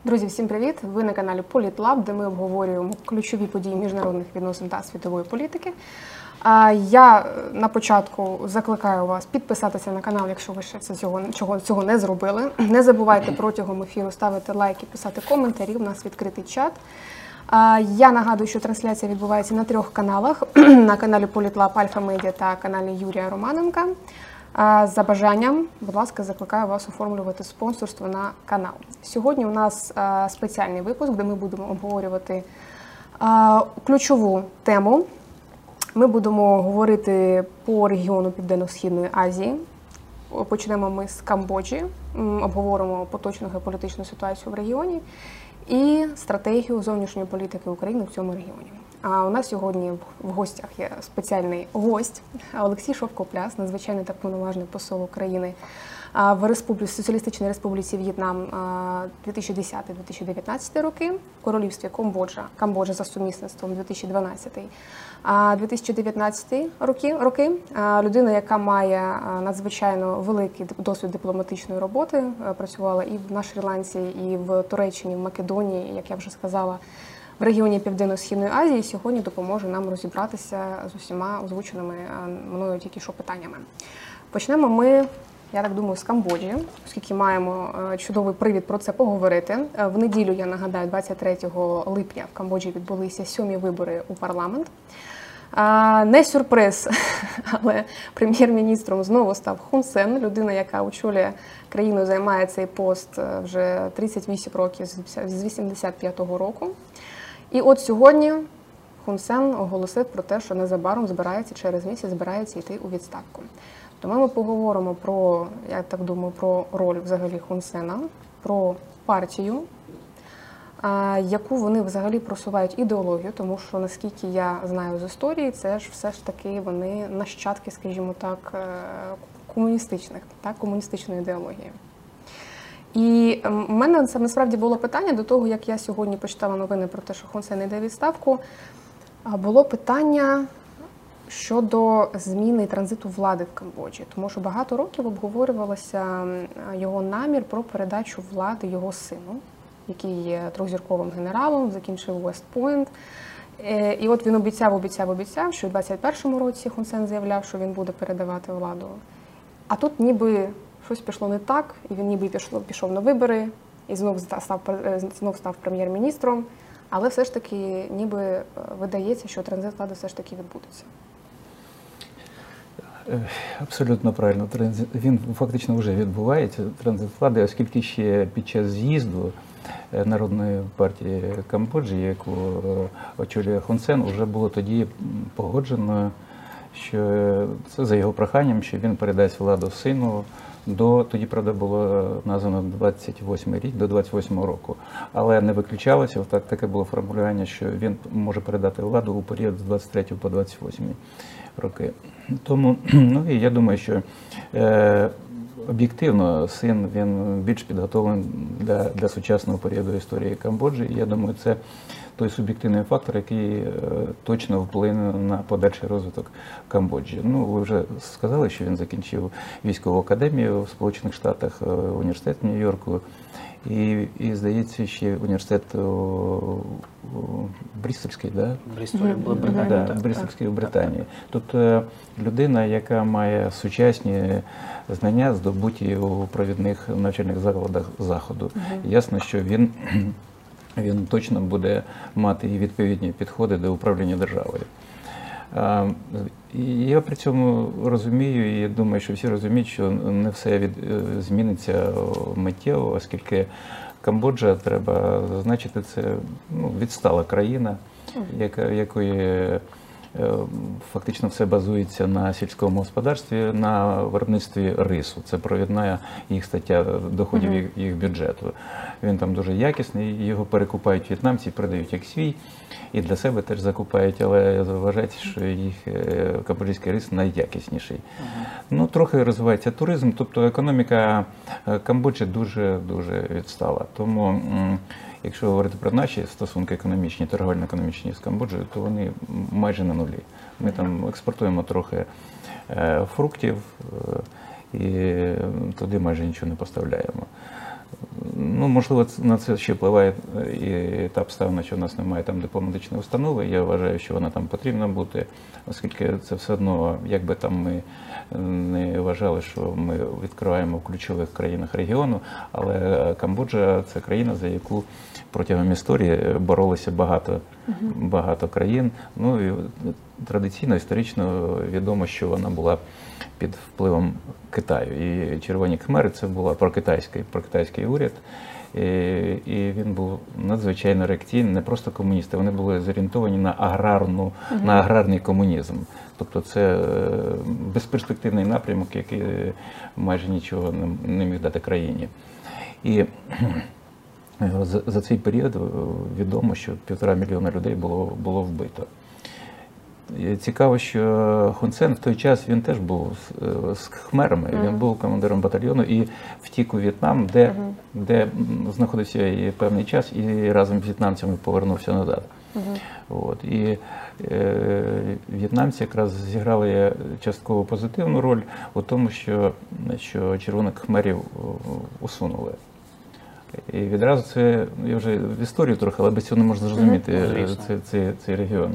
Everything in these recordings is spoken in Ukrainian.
Друзі, всім привіт! Ви на каналі Політлаб, де ми обговорюємо ключові події міжнародних відносин та світової політики. Я на початку закликаю вас підписатися на канал, якщо ви ще цього не зробили. Не забувайте протягом ефіру ставити лайки, писати коментарі, у нас відкритий чат. Я нагадую, що трансляція відбувається на 3 каналах. На каналі Політлаб, Альфа Медіа та каналі Юрія Романенка. За бажанням, будь ласка, закликаю вас оформлювати спонсорство на канал. Сьогодні у нас спеціальний випуск, де ми будемо обговорювати ключову тему. Ми будемо говорити по регіону Південно-Східної Азії. Почнемо ми з Камбоджі, обговоримо поточну геополітичну ситуацію в регіоні і стратегію зовнішньої політики України в цьому регіоні. А у нас сьогодні в гостях є спеціальний гость Олексій Шовкопляс, надзвичайний та повноважний посол України в Соціалістичній Республіці В'єтнам 2010-2019 роки, в Королівстві Камбоджа за сумісництвом 2012-2019 роки. Людина, яка має надзвичайно великий досвід дипломатичної роботи, працювала і на Шрі-Ланці, і в Туреччині, в Македонії, як я вже сказала, в регіоні Південно-Східної Азії, сьогодні допоможе нам розібратися з усіма озвученими мною тільки що питаннями. Почнемо ми, я так думаю, з Камбоджі, оскільки маємо чудовий привід про це поговорити. В неділю, я нагадаю, 23 липня в Камбоджі відбулися 7-і вибори у парламент. Не сюрприз, але прем'єр-міністром знову став Хун Сен, людина, яка очолює країну, займає цей пост вже 38 років, з 85-го року. І от сьогодні Хун Сен оголосив про те, що незабаром через місяць збирається йти у відставку. Тому ми поговоримо про, я так думаю, про роль взагалі Хун Сена, про партію, яку вони взагалі просувають ідеологію, тому що, наскільки я знаю з історії, це ж все ж таки вони нащадки, скажімо так, комуністичної ідеології. І в мене це насправді було питання до того, як я сьогодні почитала новини про те, що Хун Сен йде у відставку, було питання щодо зміни і транзиту влади в Камбоджі. Тому що багато років обговорювалося його намір про передачу влади його сину, який є трьохзірковим генералом, закінчив Вест-Пойнт. І от він обіцяв, що у 21-му році Хун Сен заявляв, що він буде передавати владу. А тут ніби щось пішло не так, і він ніби пішов на вибори, і знов став прем'єр-міністром, але все ж таки ніби видається, що транзит влади все ж таки відбудеться. Абсолютно правильно. Він фактично вже відбувається, транзит влади, оскільки ще під час з'їзду Народної партії Камбоджі, яку очолює Хун Сен, вже було тоді погоджено, що це за його проханням, що він передасть владу сину тоді, правда, було названо 28-й рік, до 28-го року. Але не виключалося, таке було формулювання, що він може передати владу у період з 23 по 28 роки. Тому, і я думаю, що об'єктивно син, він більш підготовлений для сучасного періоду історії Камбоджі. І я думаю, це той суб'єктивний фактор, який точно вплине на подальший розвиток Камбоджі. Ви вже сказали, що він закінчив військову академію в Сполучених Штатах, університет в Нью-Йорку і, здається, ще університет Брістольський, да? Брістольський в Британії. Тобто людина, яка має сучасні знання, здобуті у провідних навчальних закладах Заходу. Ясно, що він точно буде мати і відповідні підходи до управління державою. Я при цьому розумію, і думаю, що всі розуміють, що не все зміниться миттєво, оскільки Камбоджа, треба зазначити, це відстала країна, якої фактично все базується на сільському господарстві, на виробництві рису. Це провідна їх стаття доходів їх бюджету. Він там дуже якісний, його перекупають в'єтнамці, продають як свій, і для себе теж закупають, але вважається, що їх камбоджійський рис найякісніший. Трохи розвивається туризм, тобто економіка Камбоджі дуже відстала. Тому якщо говорити про наші стосунки економічні, торговельно-економічні з Камбоджею, то вони майже на нулі. Ми там експортуємо трохи фруктів і туди майже нічого не поставляємо. Ну, можливо, на це ще впливає і та обставина, що в нас немає там дипломатичної установи. Я вважаю, що вона там потрібна бути, оскільки це все одно, як би там ми не вважали, що ми відкриваємо в ключових країнах регіону, але Камбоджа – це країна, за яку протягом історії боролися багато країн. Ну і традиційно, історично відомо, що вона була під впливом Китаю. І Червоні Кхмери – це була прокитайський уряд, і він був надзвичайно реакційний, не просто комуністи, вони були зорієнтовані на аграрний комунізм. Тобто це безперспективний напрямок, який майже нічого не міг дати країні. І за цей період відомо, що 1,5 мільйона людей було вбито. Цікаво, що Хун Сен в той час він теж був з Хмерами, він був командиром батальйону і втік у В'єтнам, де знаходився і певний час, і разом з в'єтнамцями повернувся назад. От. І в'єтнамці якраз зіграли частково позитивну роль у тому, що червоних Хмерів усунули. І відразу це, я вже в історію трохи, але без цього не можна зрозуміти цей регіон.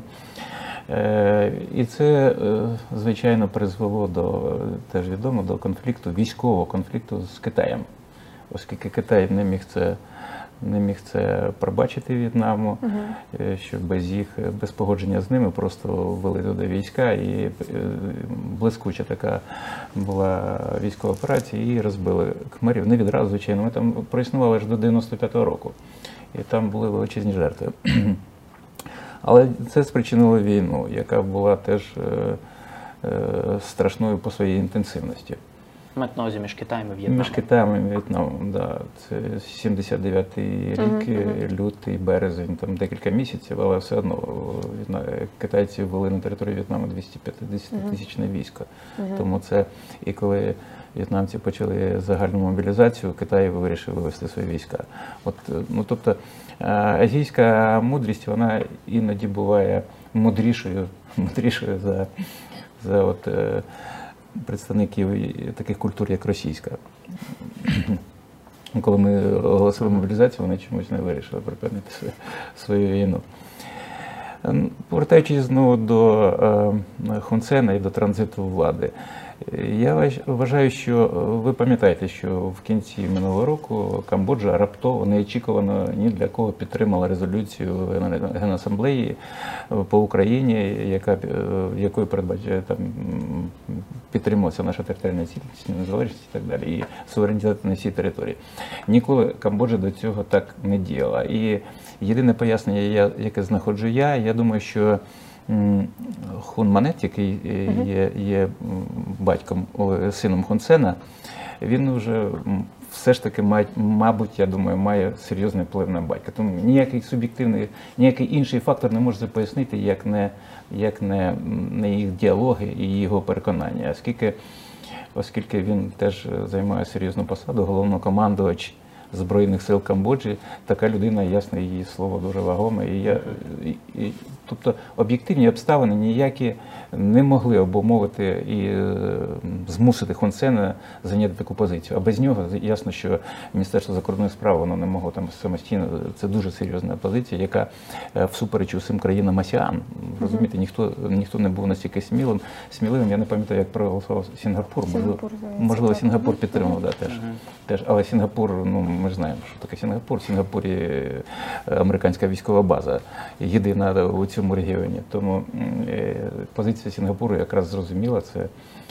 І це, звичайно, призвело теж відомо, до конфлікту, військового конфлікту з Китаєм, оскільки Китай не міг це пробачити В'єтнаму, що без погодження з ними просто ввели туди війська, і блискуча така була військова операція, і розбили Кхмерів. Не відразу, звичайно, ми там проіснували аж до 95-го року, і там були величезні жертви. Але це спричинило війну, яка була теж страшною по своїй інтенсивності. Мають на увазі між Китаєм і В'єтнамом. Між Китаєм і В'єтнамом, так. Це 79-й рік, лютий, березень, там декілька місяців, але все одно китайці ввели на територію В'єтнаму 250-тисячне військо. Тому це, і коли в'єтнамці почали загальну мобілізацію, Китай вирішив вивести свої війська. Тобто азійська мудрість, вона іноді буває мудрішою за представників таких культур, як російська. Коли ми оголосили мобілізацію, вони чомусь не вирішили припинити свою війну. Повертаючись знову до Хун Сена і до транзиту влади, я вважаю, що ви пам'ятаєте, що в кінці минулого року Камбоджа раптово, неочікувано ні для кого підтримала резолюцію Генасамблеї по Україні, якою передбачає підтримувалася наша територіальна цілісність, незалежність і так далі, і суверенітет на всій території. Ніколи Камбоджа до цього так не діяла. І єдине пояснення, яке знаходжу я думаю, що Хун Манет, який є сином Хун Сена, він вже все ж таки, мабуть, я думаю, має серйозний вплив на батька. Тому ніякий інший фактор не може пояснити, як не їх діалоги і його переконання. Оскільки він теж займає серйозну посаду, головнокомандувач Збройних сил Камбоджі, така людина, ясно, її слово дуже вагоме. Тобто об'єктивні обставини ніякі не могли обумовити і змусити Хун Сена зайняти таку позицію. А без нього ясно, що Міністерство закордонних справ воно не могло там самостійно. Це дуже серйозна позиція, яка всупереч усім країнам АСЕАН. Розумієте, ніхто не був настільки сміливим. Я не пам'ятаю, як проголосував Сінгапур. Можливо, Сінгапур підтримав, теж. Але Сінгапур, ми ж знаємо, що таке Сінгапур. В Сінгапурі американська військова база єдина у цьому регіоні. Тому позиція Сінгапуру якраз зрозуміла, це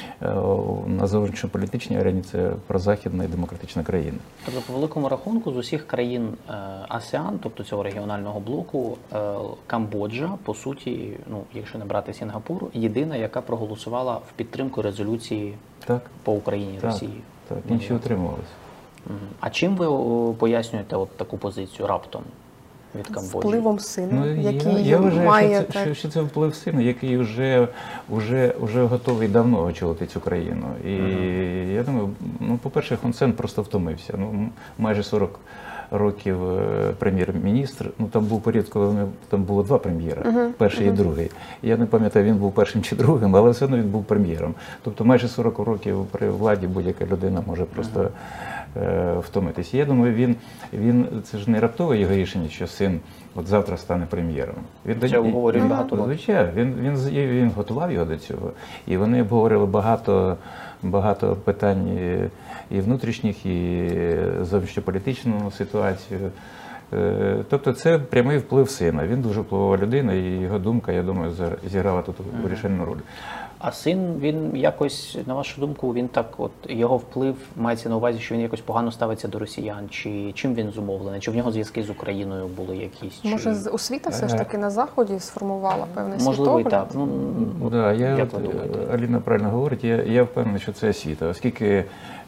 на зовнішньополітичній арені це прозахідна і демократична країна. Тобто, по великому рахунку, з усіх країн АСЕАН, тобто цього регіонального блоку, Камбоджа, по суті, якщо не брати Сінгапур, єдина, яка проголосувала в підтримку резолюції по Україні, Росії. Так, інші утримувалися. А чим ви пояснюєте таку позицію раптом від Камбоджі? Впливом сина, який я вважаю, має... що це вплив сина, який вже готовий давно очолити цю країну. І я думаю, по-перше, Хун Сен просто втомився. Майже 40 років прем'єр-міністр. Ну, там був період, коли там було два прем'єра, перший і другий. Я не пам'ятаю, він був першим чи другим, але все одно він був прем'єром. Тобто майже 40 років при владі будь-яка людина може просто втомитися. Я думаю, це ж не раптове його рішення, що син от завтра стане прем'єром. Це обговорюють багато років. Звичайно, він готував його до цього. І вони обговорили багато питань і внутрішніх, і зовнішньополітичну ситуацію. Тобто це прямий вплив сина. Він дуже впливова людина, і його думка, я думаю, зіграла тут вирішальну роль. А син, він якось, на вашу думку, він так, от його вплив мається на увазі, що він якось погано ставиться до росіян? Чи чим він зумовлений? Чи в нього зв'язки з Україною були якісь? Може, освіта все ж таки на Заході сформувала певний Можливо, і світогляд? так. Да, як ви думаєте? Аліна правильно говорить, я впевнений, що це освіта, оскільки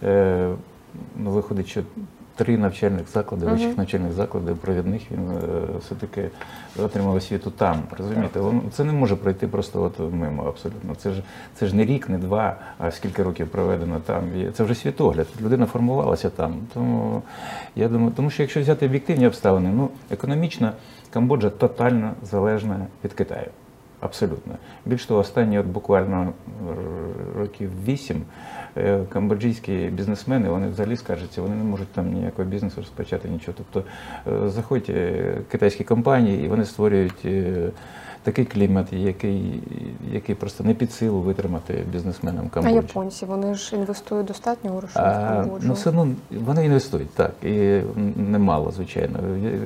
виходить, що 3 навчальних заклади, вищих навчальних закладів провідних, він все-таки отримав освіту там, розумієте? Це не може пройти просто от мимо, абсолютно. Це ж не рік, не 2, а скільки років проведено там. Це вже світогляд, людина формувалася там. Тому, я думаю, тому що якщо взяти об'єктивні обставини, економічно Камбоджа тотально залежна від Китаю. Абсолютно. Більш того, останні буквально років 8 камбоджійські бізнесмени, вони взагалі скаржаться, вони не можуть там ніякого бізнесу розпочати, нічого. Тобто заходять китайські компанії, і вони створюють такий клімат, який просто не під силу витримати бізнесменам Камбоджі. А японці, вони ж інвестують достатньо грошей в Камбоджу? Ну, все одно вони інвестують, так, і немало, звичайно.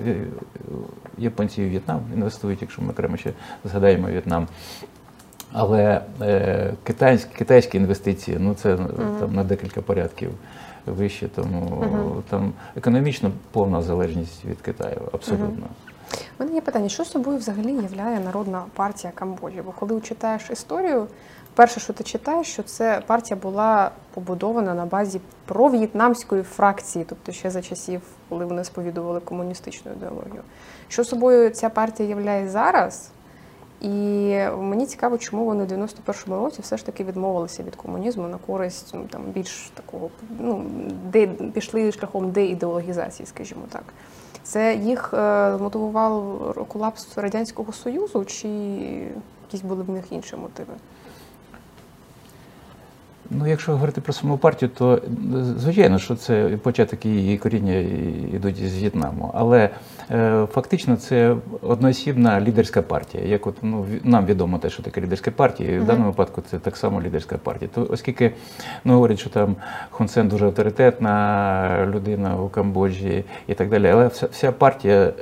Японці і В'єтнам інвестують, якщо ми окремо ще згадаємо В'єтнам. Але китайські інвестиції, це там на декілька порядків вище, тому там економічно повна залежність від Китаю, абсолютно. У мене є питання, що собою взагалі являє Народна партія Камбоджі? Бо коли читаєш історію, перше, що ти читаєш, що це партія була побудована на базі пров'єтнамської фракції, тобто ще за часів, коли вони сповідували комуністичну ідеологію. Що собою ця партія являє зараз? І мені цікаво, чому вони в 91-му році все ж таки відмовилися від комунізму на користь там більш такого, пішли шляхом деідеологізації, скажімо так. Це їх мотивував колапс Радянського Союзу, чи якісь були в них інші мотиви? Якщо говорити про саму партію, то звичайно, що це початок її коріння йдуть з В'єтнаму. Але фактично це одноосібна лідерська партія. Як нам відомо те, що таке лідерська партія, і в даному випадку це так само лідерська партія. То, оскільки говорять, що там Хун Сен дуже авторитетна людина у Камбоджі і так далі, але вся партія,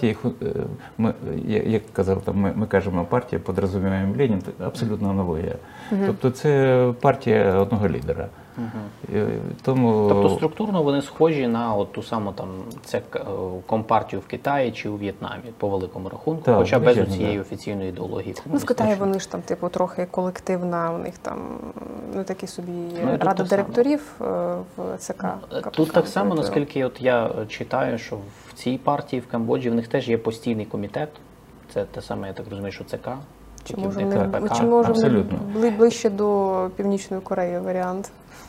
як казав, ми кажемо партія, підрозуміємо Ленін, абсолютно аналогія. Тобто це партія одного лідера. Тобто структурно вони схожі на ту саму компартію в Китаї чи у В'єтнамі, по великому рахунку, хоча без цієї офіційної ідеології. В Китаї вони ж там трохи колективна, у них там такі собі рада директорів в ЦК. Тут так само, наскільки я читаю, що в цій партії в Камбоджі в них теж є постійний комітет, це те саме, я так розумію, що ЦК. Чи може ближче до Північної Кореї варіант?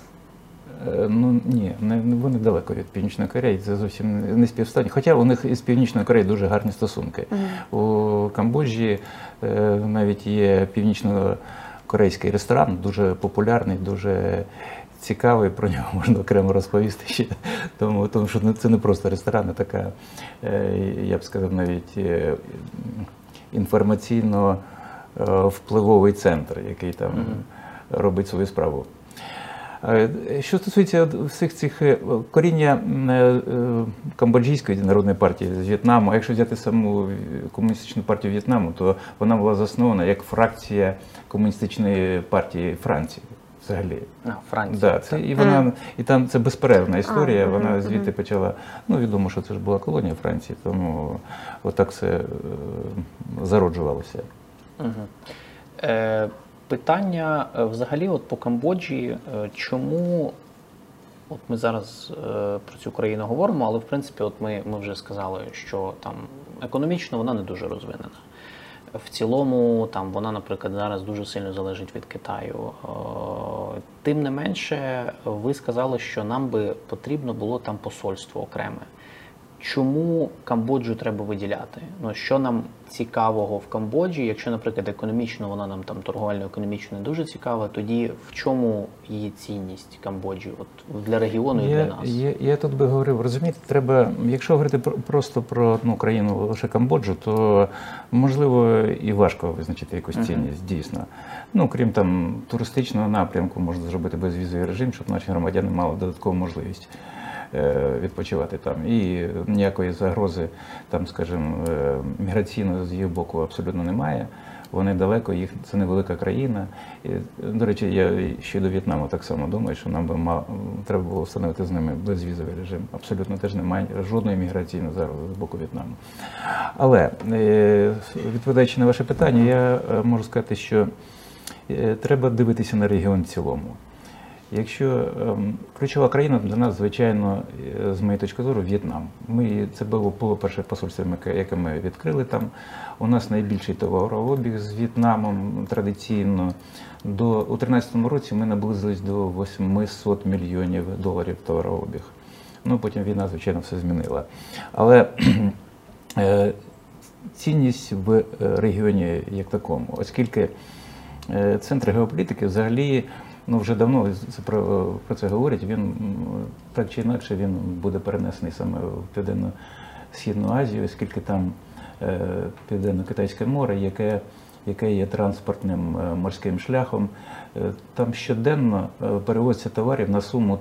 Ні, вони далеко від Північної Кореї, це зовсім не співставні. Хоча у них із Північною Кореєю дуже гарні стосунки. У Камбоджі навіть є північно-корейський ресторан, дуже популярний, дуже цікавий, про нього можна окремо розповісти ще. Тому що це не просто ресторан, а така, я б сказав, навіть інформаційно впливовий центр, який там робить свою справу. Що стосується всіх цих коріння Камбоджійської народної партії з В'єтнаму, а якщо взяти саму комуністичну партію В'єтнаму, то вона була заснована як фракція комуністичної партії Франції. Взагалі. Франція. І там це безперервна історія, вона звідти почала, відомо, що це ж була колонія Франції, тому отак все зароджувалося. Питання взагалі по Камбоджі, чому, ми зараз про цю країну говоримо, але в принципі ми вже сказали, що там економічно вона не дуже розвинена. В цілому вона, наприклад, зараз дуже сильно залежить від Китаю. Тим не менше, ви сказали, що нам би потрібно було там посольство окреме. чому Камбоджу треба виділяти? Ну, що нам цікавого в Камбоджі? Якщо, наприклад, економічно вона нам там торговельно-економічно не дуже цікава, тоді в чому її цінність Камбоджі от, для регіону і для нас? Я тут би говорив, розумієте, треба, якщо говорити просто про одну країну, лише Камбоджу, то можливо і важко визначити якусь цінність, дійсно. Ну, крім там туристичного напрямку, можна зробити безвізовий режим, щоб наші громадяни мали додаткову можливість відпочивати там. І ніякої загрози, там, скажімо, міграційної з їх боку абсолютно немає. Вони далеко, це невелика країна. І, до речі, я ще до В'єтнаму так само думаю, що нам би треба було встановити з ними безвізовий режим. Абсолютно теж немає жодної міграційної загрози з боку В'єтнаму. Але, відповідаючи на ваше питання, я можу сказати, що треба дивитися на регіон в цілому. Якщо ключова країна для нас, звичайно, з моєї точки зору, В'єтнам. Це було перше посольство, яке ми відкрили там. У нас найбільший товарообіг з В'єтнамом традиційно. У 2013 році ми наблизились до 800 мільйонів доларів товарообіг. Ну, потім війна, звичайно, все змінила. Але цінність в регіоні як такому, оскільки центр геополітики взагалі, ну, вже давно про це говорять, він так чи інакше він буде перенесений саме в Південно-Східну Азію, оскільки там Південно-Китайське море, яке є транспортним морським шляхом. Там щоденно перевозиться товарів на суму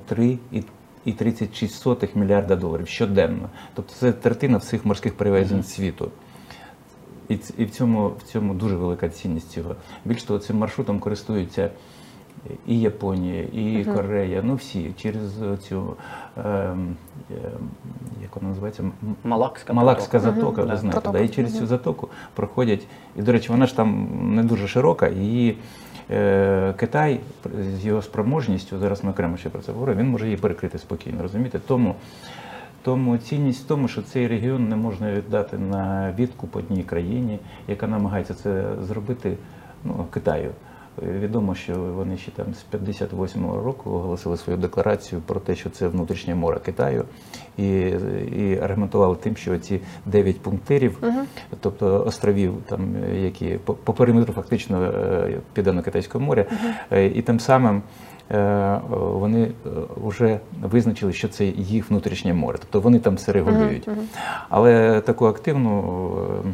3,36 мільярда доларів щоденно. Тобто це третина всіх морських перевезень світу. І в цьому дуже велика цінність цього. Більш того, цим маршрутом користуються і Японія, і Корея, ну всі, через цю, як вона називається? Малакська затока, ви знаєте. Да, і через цю затоку проходять, і, до речі, вона ж там не дуже широка, і Китай з його спроможністю, зараз ми окремо ще про це говоримо, він може її перекрити спокійно, розумієте? Тому цінність в тому, що цей регіон не можна віддати на відкуп одній країні, яка намагається це зробити, ну, Китаю. Відомо, що вони ще там з 58-го року оголосили свою декларацію про те, що це внутрішнє море Китаю, і аргументували тим, що ці 9 пунктирів, тобто островів, там, які по периметру фактично Південно-Китайського моря, і тим самим вони вже визначили, що це їх внутрішнє море, тобто вони там все регулюють. Але таку активну,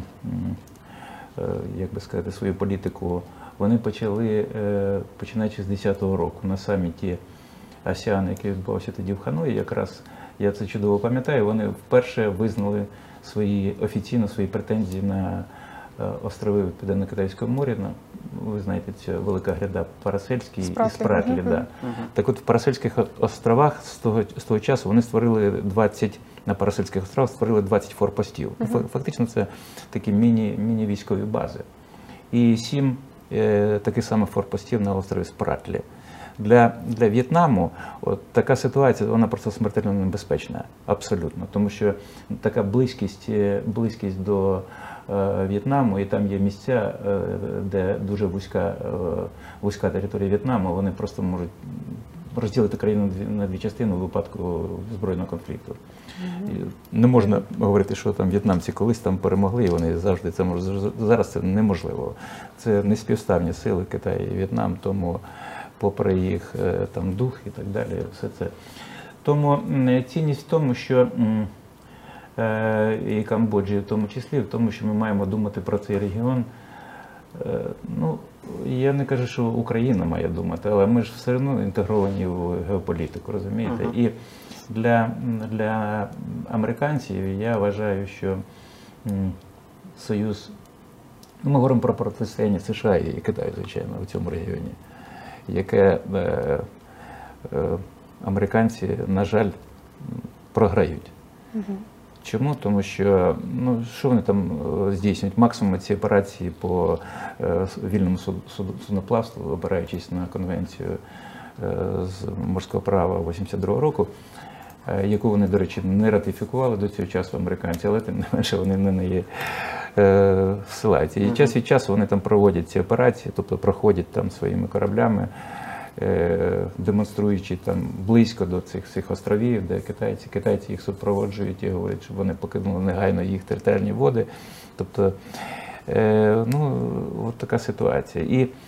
як би сказати, свою політику вони почали, починаючи з 2010 року, на саміті АСЕАН, який відбувався тоді в Ханої, якраз, я це чудово пам'ятаю, вони вперше визнали офіційно свої претензії на острови Південно-Китайського моря. Ви знаєте, ця велика гряда Парасельський і Спратлі. Да. Так от в Парасельських островах з того часу вони створили на Парасельських островах створили 20 форпостів. Фактично це такі міні-військові бази. І 7 таких самих форпостів на острові Спратлі. Для В'єтнаму така ситуація, вона просто смертельно небезпечна, абсолютно. Тому що така близькість до В'єтнаму, і там є місця, де дуже вузька територія В'єтнаму, вони просто можуть розділити країну на дві частини у випадку збройного конфлікту. Не можна говорити, що там в'єтнамці колись там перемогли, і вони завжди це можуть. Зараз це неможливо. Це неспівставні сили Китай і В'єтнам, тому попри їх там дух і так далі, все це. Тому цінність в тому, що і Камбоджі в тому числі, в тому, що ми маємо думати про цей регіон. Ну, я не кажу, що Україна має думати, але ми ж все одно інтегровані в геополітику, розумієте? І для американців я вважаю, що Союз, ми говоримо про протистояння США і Китаю, звичайно, в цьому регіоні, яке американці, на жаль, програють. Чому? Тому що, ну, що вони там здійснюють? Максимум ці операції по вільному судноплавству, опираючись на конвенцію з морського права 82-го року, яку вони, до речі, не ратифікували до цього часу американці, але тим не менше вони на неї всилаються. І час від часу вони там проводять ці операції, тобто проходять там своїми кораблями демонструючи там близько до цих островів, де китайці їх супроводжують і говорять, щоб вони покинули негайно їх територіальні води. Тобто, ну, от така ситуація.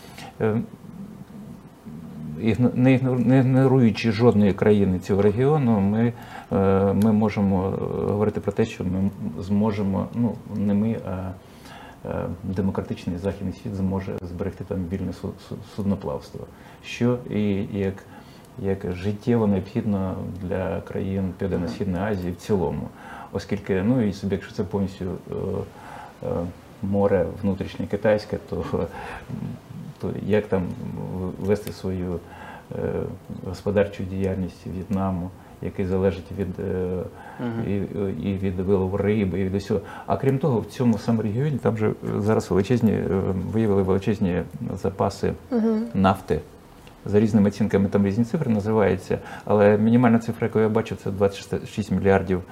І не ігноруючи жодної країни цього регіону, ми можемо говорити про те, що ми зможемо, ну не ми, а демократичний західний світ зможе зберегти там вільне судноплавство, що і як життєво необхідно для країн Південно-Східної Азії в цілому, оскільки, ну і собі, якщо це повністю море внутрішнє китайське, то як там вести свою господарчу діяльність В'єтнаму, який залежить і від вилову риби, і від усього. А крім того, в цьому самому регіоні там же зараз виявили величезні запаси нафти. За різними оцінками там різні цифри називаються, але мінімальна цифра, яку я бачу, це 26 мільярдів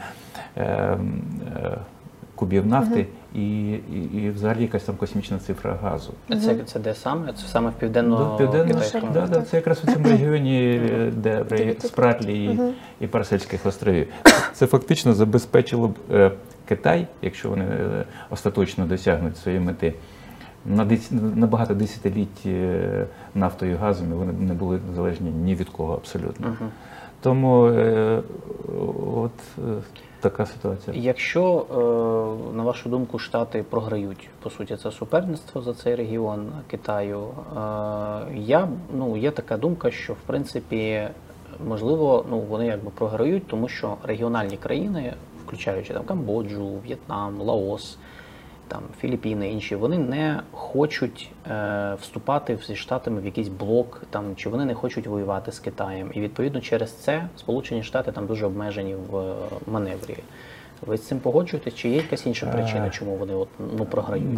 кубів нафти і взагалі якась там космічна цифра газу. Це де саме? Це саме в південно-китайському? Так, це якраз у цьому регіоні, де Спратлі і Парсельських островів. Це фактично забезпечило б Китай, якщо вони остаточно досягнуть своєї мети, на багато десятиліть нафтою і газом, і вони не були залежні ні від кого абсолютно. Тому от така ситуація. Якщо, на вашу думку, Штати програють, по суті, це суперництво за цей регіон Китаю, є така думка, що, в принципі, можливо, вони якби програють, тому що регіональні країни, включаючи там Камбоджу, В'єтнам, Лаос, там Філіппіни, інші, вони не хочуть вступати зі Штатами в якийсь блок, там, чи вони не хочуть воювати з Китаєм. І відповідно через це Сполучені Штати там дуже обмежені в маневрі. Ви з цим погоджуєтесь? Чи є якась інша причина, чому вони програють?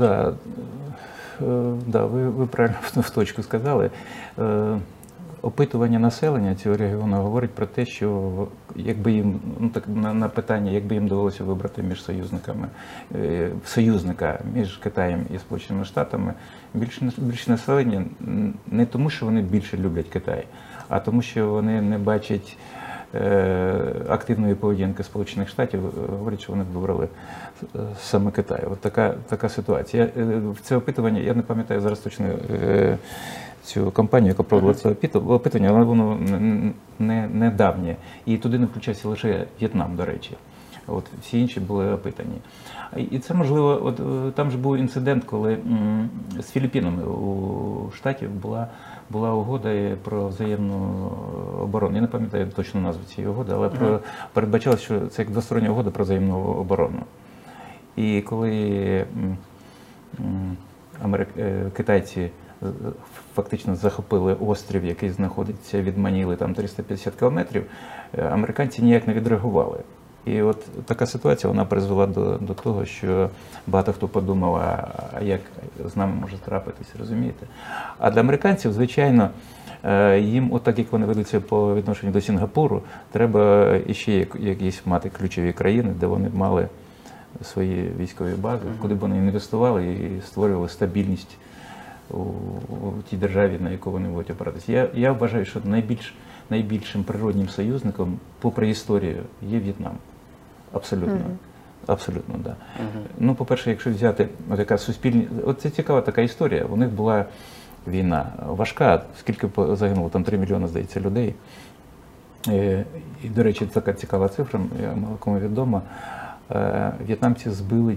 Да, ви правильно в точку сказали. Опитування населення цього регіону говорить про те, що якби їм, на питання, якби їм довелося вибрати між союзника між Китаєм і Сполученими Штатами, більше населення не тому, що вони більше люблять Китай, а тому, що вони не бачать активної поведінки Сполучених Штатів, говорять, що вони вибрали саме Китай. От така ситуація. В це опитування, я не пам'ятаю зараз точно цю кампанію, яка проводила це опитування, але воно не давнє. І туди не включався лише В'єтнам, до речі. От, всі інші були опитані. І це, можливо, там ж був інцидент, коли з Філіппінами у Штатів була угода про взаємну оборону. Я не пам'ятаю точно назву цієї угоди, але передбачалось, що це як двостороння угода про взаємну оборону. І коли китайці фактично захопили острів, який знаходиться від Маніли, там 350 кілометрів, американці ніяк не відреагували. І от така ситуація, вона призвела до того, що багато хто подумав, а як з нами може трапитись, розумієте? А для американців, звичайно, їм, отак як вони ведуться по відношенню до Сінгапуру, треба іще якісь мати ключові країни, де вони б мали свої військові бази, куди б вони інвестували і створювали стабільність у тій державі, на яку вони будуть опиратися. Я вважаю, що найбільшим природнім союзником, попри історію, є В'єтнам. Абсолютно. Абсолютно, так. Ну, по-перше, якщо взяти така суспільна... Це цікава така історія. У них була війна важка, скільки загинуло, там 3 мільйони, здається, людей. І, до речі, така цікава цифра, мало кому відома. В'єтнамці збили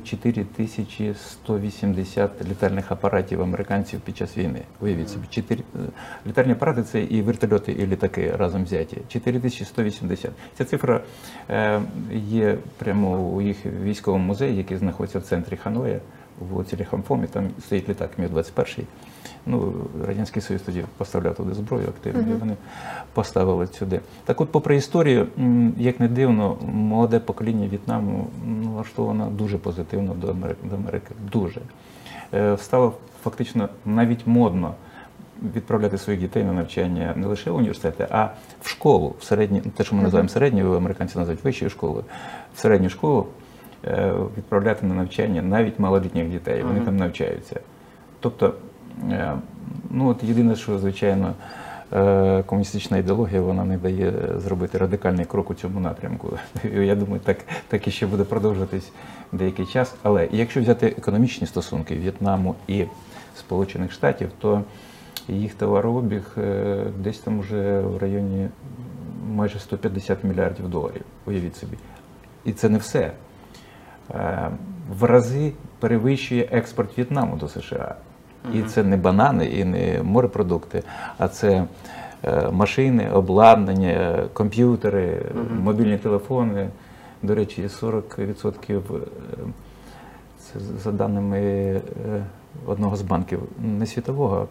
4180 літальних апаратів американців під час війни. Уявіть собі, літальні апарати – це і вертольоти, і літаки разом взяті. 4180. Ця цифра є прямо у їх військовому музеї, який знаходиться в центрі Ханоя, у вулиці Ліхамфомі, там стоїть літак Мі-21. Ну, Радянський Союз тоді поставляв туди зброю активно, і вони поставили сюди. Так от, попри історію, як не дивно, молоде покоління В'єтнаму налаштовано дуже позитивно до Америки. Дуже. Стало фактично навіть модно відправляти своїх дітей на навчання не лише в університети, а в школу, в середню, те, що ми називаємо середньою, американці називають вищою школою, в середню школу відправляти на навчання навіть малолітніх дітей, вони там навчаються. Тобто, ну от єдине, що, звичайно, комуністична ідеологія, вона не дає зробити радикальний крок у цьому напрямку. Я думаю, так і ще буде продовжуватись деякий час. Але якщо взяти економічні стосунки В'єтнаму і Сполучених Штатів, то їх товарообіг десь там вже в районі майже 150 мільярдів доларів, уявіть собі. І це не все. В рази перевищує експорт В'єтнаму до США. І це не банани, і не морепродукти, а це машини, обладнання, комп'ютери, мобільні телефони. До речі, 40%, це за даними одного з банків, не світового,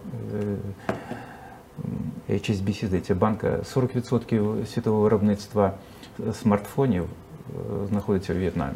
HSBC, здається, банка, 40% світового виробництва смартфонів знаходиться у В'єтнамі.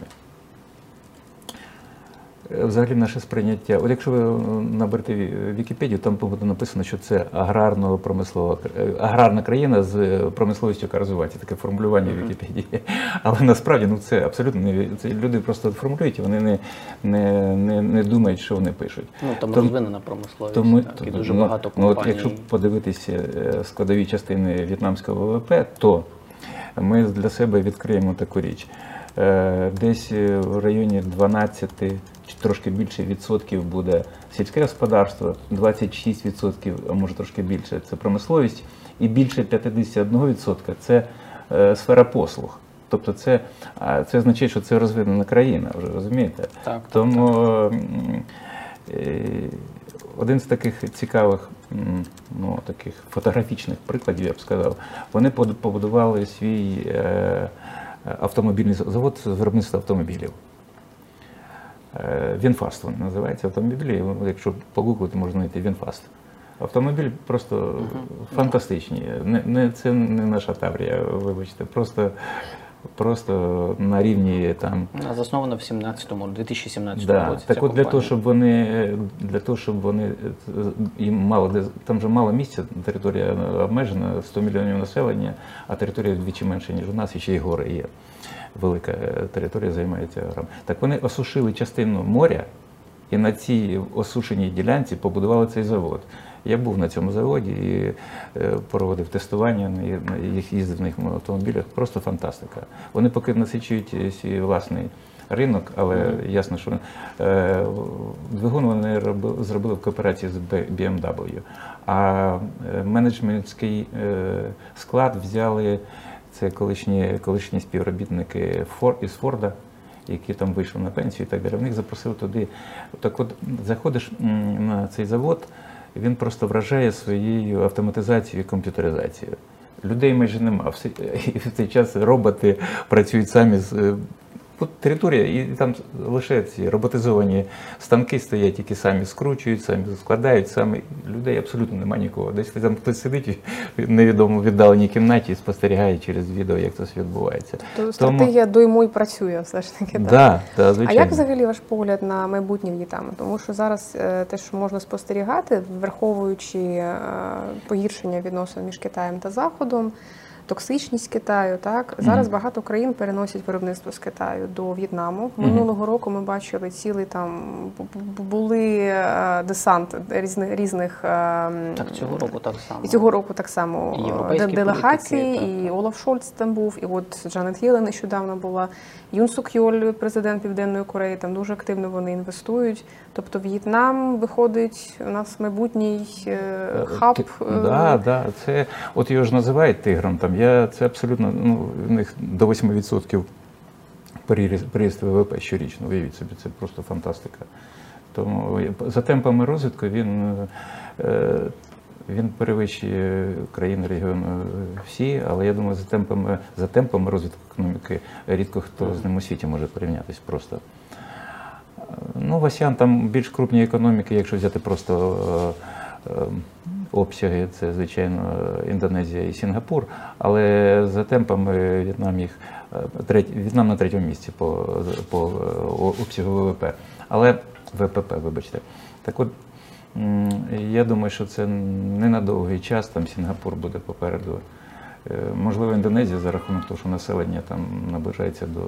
Взагалі наше сприйняття, от якщо ви наберете Вікіпедію, там буде написано, що це аграрна країна з промисловістю, яка розвивається, таке формулювання в Вікіпедії. Але насправді це абсолютно не це люди просто формулюють, і вони не думають, що вони пишуть. Там розвинена промисловість, і дуже багато компаній. От якщо подивитися складові частини в'єтнамського ВВП, то ми для себе відкриємо таку річ. Десь в районі 12 чи трошки більше відсотків буде сільське господарство, 26%, а може трошки більше, це промисловість, і більше 51% це сфера послуг. Тобто це означає, що це розвинена країна, вже розумієте? Так, тому один з таких цікавих, таких фотографічних прикладів, я б сказав, вони побудували свій автомобільний завод з виробництва автомобілів. Вінфаст він називається автомобілі, якщо погуглити, можна знайти Вінфаст. Автомобіль просто фантастичні. Це не наша Таврія, вибачте, просто на рівні там. Засновано в 2017 році. Так от для того, щоб вони їм мало, там же мало місця, територія обмежена, 100 мільйонів населення, а територія вдвічі менше, ніж у нас, і ще й гори є. Велика територія займається горами. Так вони осушили частину моря і на цій осушеній ділянці побудували цей завод. Я був на цьому заводі і проводив тестування, їздив на їх автомобілях. Просто фантастика. Вони поки насичують свій власний ринок, але ясно, що двигун вони зробили в кооперації з BMW. А менеджментський склад взяли це колишні співробітники із Форда, які там вийшли на пенсію і так далі. В них запросили туди. Так от заходиш на цей завод, він просто вражає своєю автоматизацією і комп'ютеризацією. Людей майже нема. І в цей час роботи працюють самі з територія, і там лише ці роботизовані станки стоять, які самі скручують, самі складають, людей абсолютно немає нікого. Десь там хтось сидить в невідомо віддаленій кімнаті і спостерігає через відео, як це все відбувається. Тобто стратегія дойму і працює все ж таки. Да, звичайно. А як взагалі ваш погляд на майбутнє В'єтнаму? Тому що зараз те, що можна спостерігати, враховуючи погіршення відносин між Китаєм та Заходом, токсичність Китаю, так? Зараз багато країн переносять виробництво з Китаю до В'єтнаму. Минулого року ми бачили цілий там, були десант різних... Так, цього року так само. І цього року так само делегації, і Олаф Шольц там був, і от Джанет Єлен нещодавно була, Юн Сук Йоль, президент Південної Кореї, там дуже активно вони інвестують. Тобто В'єтнам виходить, у нас майбутній хаб. Да, це, от його ж називають тигром, там, це абсолютно, в них до 8% приріст ВВП щорічно, уявіть собі, це просто фантастика. Тому за темпами розвитку він перевищує країни регіону всі, але я думаю, за темпами розвитку економіки рідко хто з ним у світі може порівнятися просто. В АСЕАН там більш крупні економіки, якщо взяти просто обсяги, це, звичайно, Індонезія і Сінгапур, але за темпами В'єтнам на третьому місці по обсягу ВВП. Але ВПП, вибачте. Так от, я думаю, що це не на довгий час, там Сінгапур буде попереду. Можливо, Індонезія за рахунок того, що населення там наближається до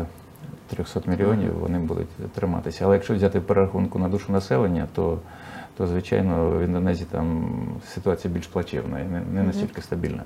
300 мільйонів, вони будуть триматися. Але якщо взяти перерахунку на душу населення, то то звичайно в Індонезії там ситуація більш плачевна і не настільки стабільна.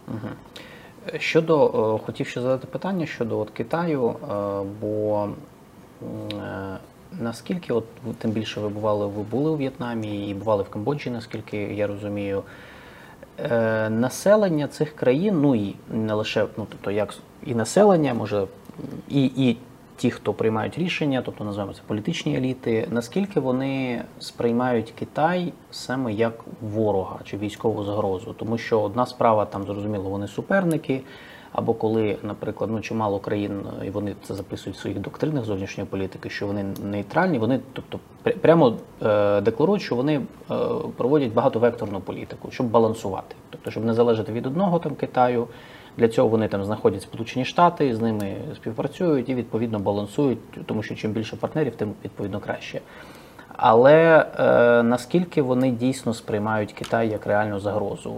Хотів ще задати питання щодо Китаю, бо наскільки, тим більше ви були у В'єтнамі і бували в Камбоджі, наскільки я розумію, населення цих країн, ну і не лише, тобто як і населення, може, і ті, хто приймають рішення, тобто називаємо це політичні еліти, наскільки вони сприймають Китай саме як ворога чи військову загрозу? Тому що одна справа, там зрозуміло, вони суперники, або коли, наприклад, чимало країн, і вони це записують в своїх доктринах зовнішньої політики, що вони нейтральні, вони, тобто, прямо декларують, що вони проводять багатовекторну політику, щоб балансувати, тобто, щоб не залежати від одного там Китаю. Для цього вони там знаходять Сполучені Штати, з ними співпрацюють і відповідно балансують, тому що чим більше партнерів, тим відповідно краще. Але наскільки вони дійсно сприймають Китай як реальну загрозу?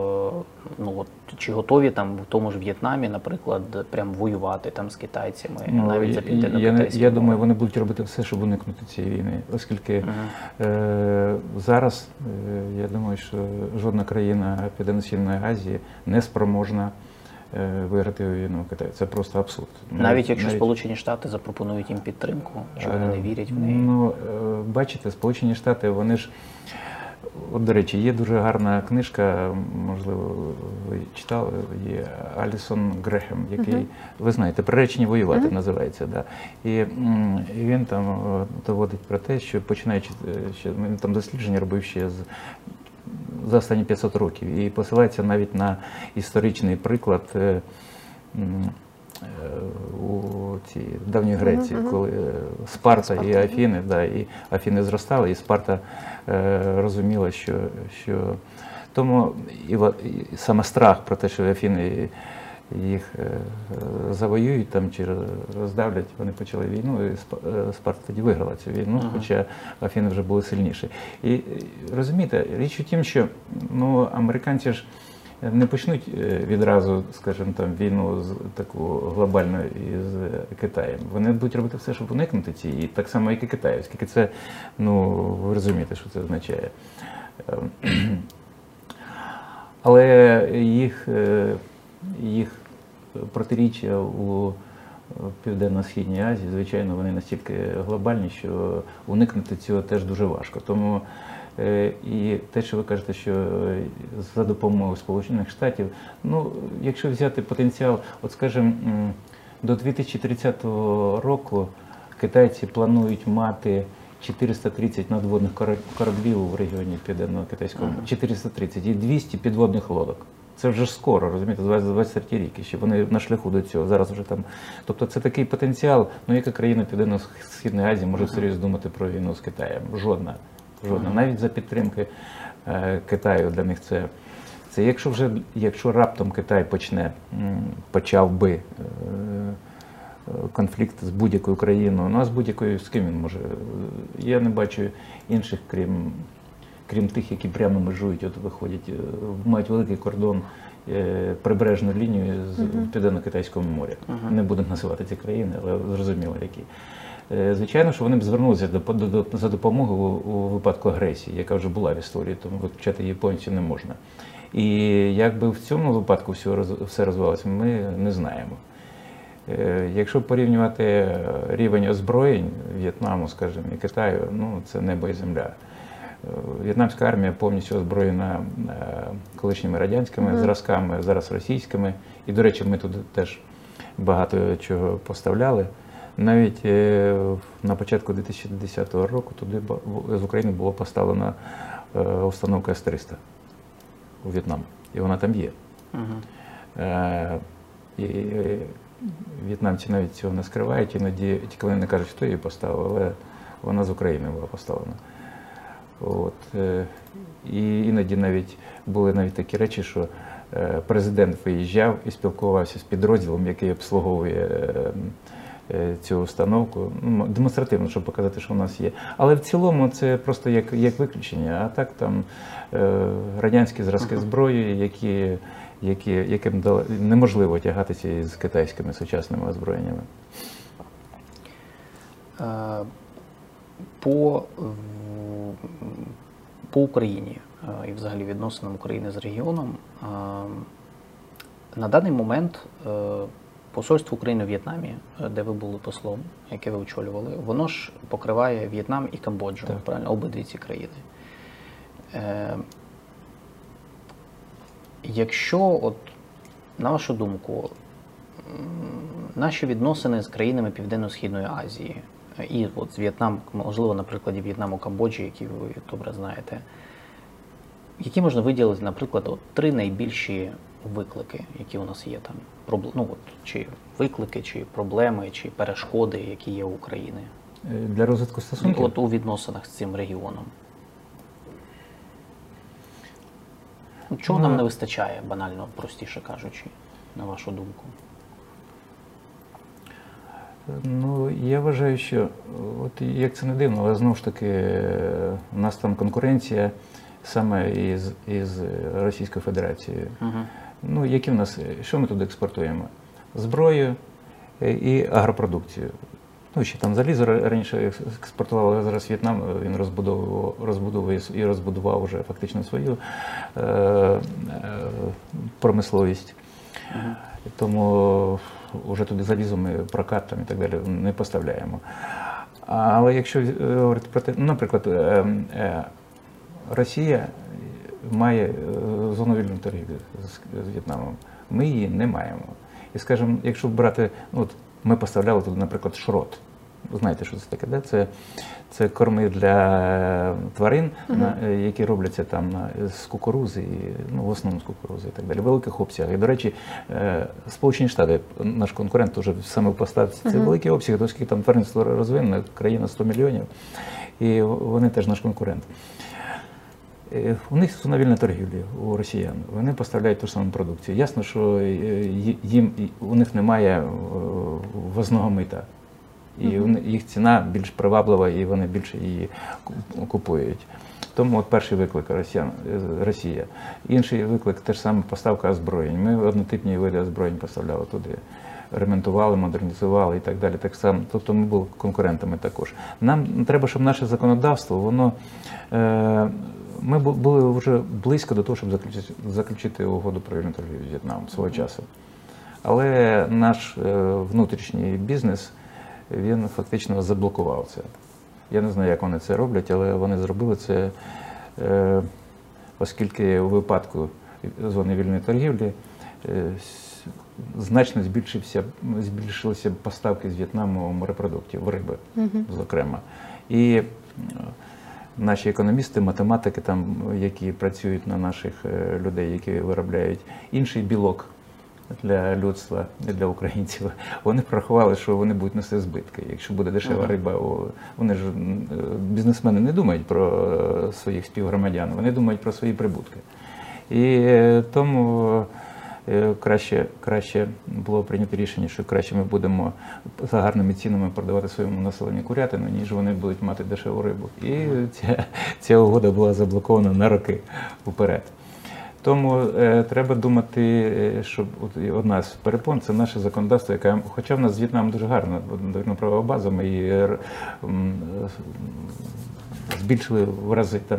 Чи готові там в тому ж В'єтнамі, наприклад, прям воювати там з китайцями, навіть за південно-китайським? Я думаю, вони будуть робити все, щоб уникнути цієї війни, оскільки зараз, я думаю, що жодна країна Південно-Східної Азії не спроможна виграти війну в Китаї. Це просто абсурд. Навіть якщо Сполучені Штати запропонують їм підтримку, що вони не вірять в неї? Бачите, Сполучені Штати, вони ж, до речі, є дуже гарна книжка, можливо, ви читали, є Алісон Грехем, який, ви знаєте, «Приречені воювати» називається. Да. І він там доводить про те, що починаючи, він там дослідження робив ще за останні 500 років і посилається навіть на історичний приклад у цій давній Греції, коли Спарта і Афіни, і Афіни зростали, і Спарта розуміла, що тому і саме страх про те, що Афіни їх завоюють там чи роздавлять, вони почали війну, і Спарта тоді виграла цю війну, хоча Афіни вже були сильніші. І розумієте, річ у тім, що американці ж не почнуть відразу, скажімо, там війну таку глобальну із Китаєм. Вони будуть робити все, щоб уникнути цієї, так само, як і Китай, оскільки це, ви розумієте, що це означає. Але їх протиріччя у Південно-Східній Азії, звичайно, вони настільки глобальні, що уникнути цього теж дуже важко. Тому і те, що ви кажете, що за допомогою Сполучених Штатів, якщо взяти потенціал, скажімо, до 2030 року китайці планують мати 430 надводних кораблів у регіоні Південно-Китайському, 430 і 200 підводних лодок. Це вже ж скоро, розумієте, 23 рік, ще вони на шляху до цього, зараз вже там. Тобто це такий потенціал, яка країна Південно-Східної Азії може серйозно думати про війну з Китаєм? Жодна. Навіть за підтримки Китаю для них це якщо раптом Китай почав би конфлікт з будь-якою країною, а з будь-якою, з ким він може? Я не бачу інших, крім тих, які прямо межують, виходять, мають великий кордон, прибережну лінію з Південно-Китайського моря. Не будемо називати ці країни, але зрозуміло, які. Звичайно, що вони б звернулися за допомогою у випадку агресії, яка вже була в історії, тому виключати її повністю не можна. І як би в цьому випадку все розвивалося, ми не знаємо. Якщо порівнювати рівень озброєнь В'єтнаму, скажімо, і Китаю, це небо і земля. В'єтнамська армія повністю озброєна колишніми радянськими зразками, зараз російськими. І, до речі, ми туди теж багато чого поставляли. Навіть на початку 2010 року туди з України було поставлена установка С-300 у В'єтнам. І вона там є. І в'єтнамці навіть цього не скривають, іноді тільки вони не кажуть, хто її поставив, але вона з України була поставлена. І іноді навіть були такі речі, що президент виїжджав і спілкувався з підрозділом, який обслуговує цю установку, демонстративно, щоб показати, що у нас є. Але в цілому це просто як виключення, а так там радянські зразки зброї, яким неможливо тягатися із китайськими сучасними озброєннями. По Україні і взагалі відносинам України з регіоном. На даний момент посольство України в В'єтнамі, де ви були послом, яке ви очолювали, воно ж покриває В'єтнам і Камбоджу, Так. правильно? Обидві ці країни. Якщо, от, на вашу думку, наші відносини з країнами Південно-Східної Азії і от з В'єтнам, можливо, на прикладі В'єтнаму, Камбоджі, які ви добре знаєте, які можна виділити, наприклад, от 3 найбільші виклики, які у нас є там? Ну, от, чи виклики, чи проблеми, чи перешкоди, які є у України? Для розвитку стосунків? От у відносинах з цим регіоном. Чого нам не вистачає, банально, простіше кажучи, на вашу думку? Ну, я вважаю, що, от як це не дивно, але знову ж таки, у нас там конкуренція саме із Російською Федерацією. Ну, які в нас, що ми туди експортуємо? Зброю і агропродукцію. Ну, ще там залізо раніше експортували, але зараз В'єтнам, він розбудовує і розбудував вже фактично свою промисловість. Тому вже туди залізо ми прокат там і так далі не поставляємо. Але якщо говорити про те, наприклад, Росія має зону вільної торгівлі з В'єтнамом, ми її не маємо. І, скажімо, якщо брати, ну, от ми поставляли туди, наприклад, шрот. Знаєте, що це таке, да? Це корми для тварин, які робляться там з кукурузи, ну, в основному з кукурузи і так далі, в великих обсягах. І, до речі, Сполучені Штати, наш конкурент, вже саме в поставці, це великі обсяги, оскільки там тваринство розвинене, країна 100 мільйонів, і вони теж наш конкурент. У них зона вільної торгівлі, у росіян. Вони поставляють ту ж саму продукцію. Ясно, що у них немає ввозного мита. І їх ціна більш приваблива, і вони більше її купують. Тому от перший виклик Росія. Інший виклик – теж саме поставка озброєнь. Ми однотипні види озброєнь поставляли туди. Ремонтували, модернізували і так далі. Так само. Тобто ми були конкурентами також. Нам треба, щоб наше законодавство, воно... Ми були вже близько до того, щоб заключити угоду про вільну торгівлю з В'єтнамом свого часу. Але наш внутрішній бізнес, він фактично заблокував це. Я не знаю, як вони це роблять, але вони зробили це, оскільки у випадку зони вільної торгівлі значно збільшилися поставки з В'єтнаму морепродуктів, риби, зокрема. І наші економісти, математики, там, які працюють на наших людей, які виробляють інший білок для людства, не для українців, вони порахували, що вони будуть нести збитки. Якщо буде дешева риба, вони ж, бізнесмени не думають про своїх співгромадян, вони думають про свої прибутки. І тому краще було прийнято рішення, що краще ми будемо за гарними цінами продавати своєму населенню курятину, ніж вони будуть мати дешеву рибу. І ця угода була заблокована на роки вперед. Тому треба думати, що одна з перепон – це наше законодавство, яке, хоча в нас з В'єтнамом дуже гарна правова база, ми її збільшили в рази там.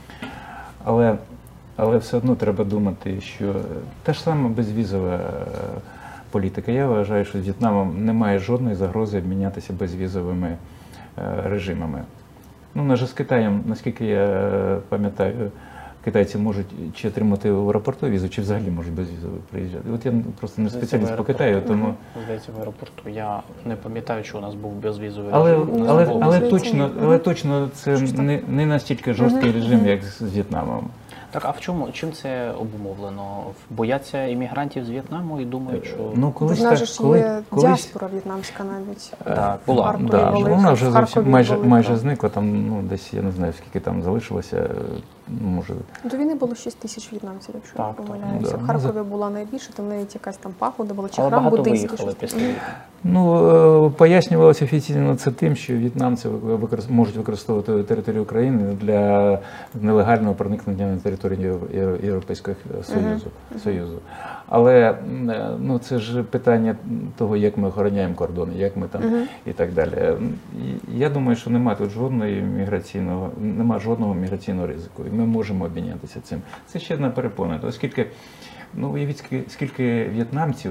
Але все одно треба думати, що та ж сама безвізова політика. Я вважаю, що з В'єтнамом немає жодної загрози обмінятися безвізовими режимами. Ну, навіть з Китаєм, наскільки я пам'ятаю, китайці можуть чи отримати в аеропорту візу, чи взагалі можуть безвізово приїжджати. От я просто не спеціаліст по Китаю, тому... Здається, в аеропорту. Я не пам'ятаю, що у нас був безвізовий режим. Але точно це не настільки жорсткий режим, як з В'єтнамом. Так, а чим це обумовлено? Бояться іммігрантів з В'єтнаму і думають, що... Ну, колись так, є діаспора в'єтнамська навіть. Так, була. Вона вже зовсім майже зникла, там, ну, десь, я не знаю, скільки там залишилося, може... До війни було 6 тисяч в'єтнамців, якщо не помиляюся. В Харкові була найбільше, там навіть якась там пагода була, чи храм буддийський. Але багато виїхали після війни. Ну, пояснювалося офіційно це тим, що в'єтнамці можуть використовувати територію України для нелегального проникнення на територію Європейського Союзу. Але ну, це ж питання того, як ми охороняємо кордони, як ми там і так далі. Я думаю, що немає тут жодного міграційного ризику, і ми можемо обмінятися цим. Це ще одна перепона, оскільки, ну, уявіть, скільки в'єтнамців